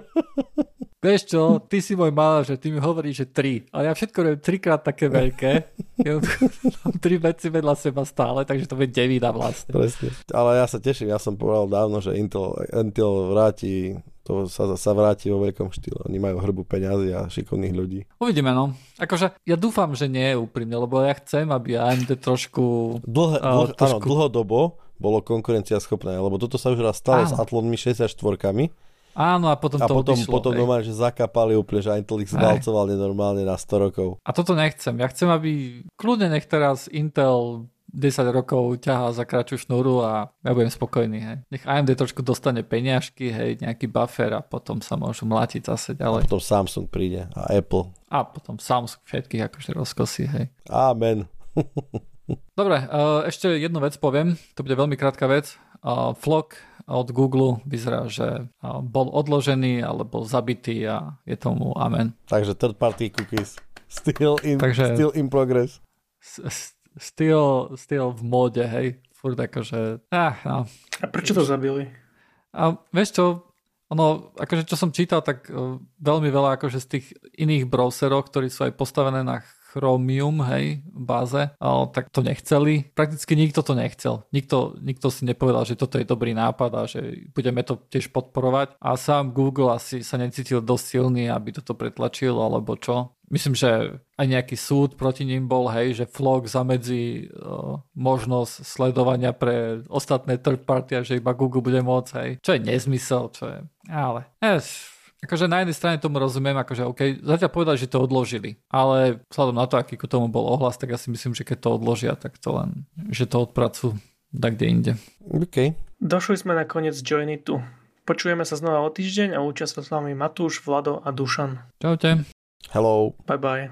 Vieš čo, ty si môj manažer, ty mi hovoríš, že tri. Ale ja všetko robím trikrát také veľké. Ja mám tri veci vedľa seba stále, takže to bude devína vlastne. Presne. Ale ja sa teším, ja som povedal dávno, že Intel, Intel vráti, to sa, sa vráti vo veľkom štýle. Oni majú hrbu peňazí a šikovných ľudí. Uvidíme, no. Akože ja dúfam, že nie je úprimne, lebo ja chcem, aby á em dé trošku... Dlh, dlh, uh, trošku... Áno, dlhodobo bolo konkurencia schopné, lebo toto sa už raz stalo áno. s Athlonmi šesťdesiatštyri Áno, a potom a to potom, odišlo. potom normálne, že zakapali úplne, že Intel ich zvalcoval nenormálne na sto rokov. A toto nechcem. Ja chcem, aby kľudne nech teraz Intel desať rokov ťahá za kratšiu šnúru a ja budem spokojný. Hej. Nech á em dé trošku dostane peniažky, hej, nejaký buffer a potom sa môžu mlátiť zase ďalej. A potom Samsung príde a Apple. A potom Samsung všetkých akože rozkosí, hej. Amen. Dobre, ešte jednu vec poviem, to bude veľmi krátka vec. Flock od Google vyzerá, že bol odložený alebo zabitý a je tomu amen. Takže third party cookies still in, Takže, still in progress. Still, still v móde, hej. Furt akože... Ah, no. A prečo to zabili? A vieš čo, ono, akože čo som čítal, tak veľmi veľa akože z tých iných browserov, ktorí sú aj postavené na Chromium, hej, báze, ale tak to nechceli. Prakticky nikto to nechcel. Nikto, nikto si nepovedal, že toto je dobrý nápad a že budeme to tiež podporovať. A sám Google asi sa necítil dosť silný, aby toto pretlačil, alebo čo. Myslím, že aj nejaký súd proti ním bol, hej, že Flock zamedzí uh, možnosť sledovania pre ostatné third party a že iba Google bude môcť, hej. Čo je nezmysel, čo je... Ale... Yes. Akože na jednej strane tomu rozumiem, akože OK, zatiaľ povedať, že to odložili, ale vzhľadom na to, aký k tomu bol ohlas, tak ja si myslím, že keď to odložia, tak to len, že to odpracujú tak kde inde. OK. Došli sme na koniec Joinitu. Počujeme sa znova o týždeň a učia sa s vami Matúš, Vlado a Dušan. Čaute. Hello. Bye bye.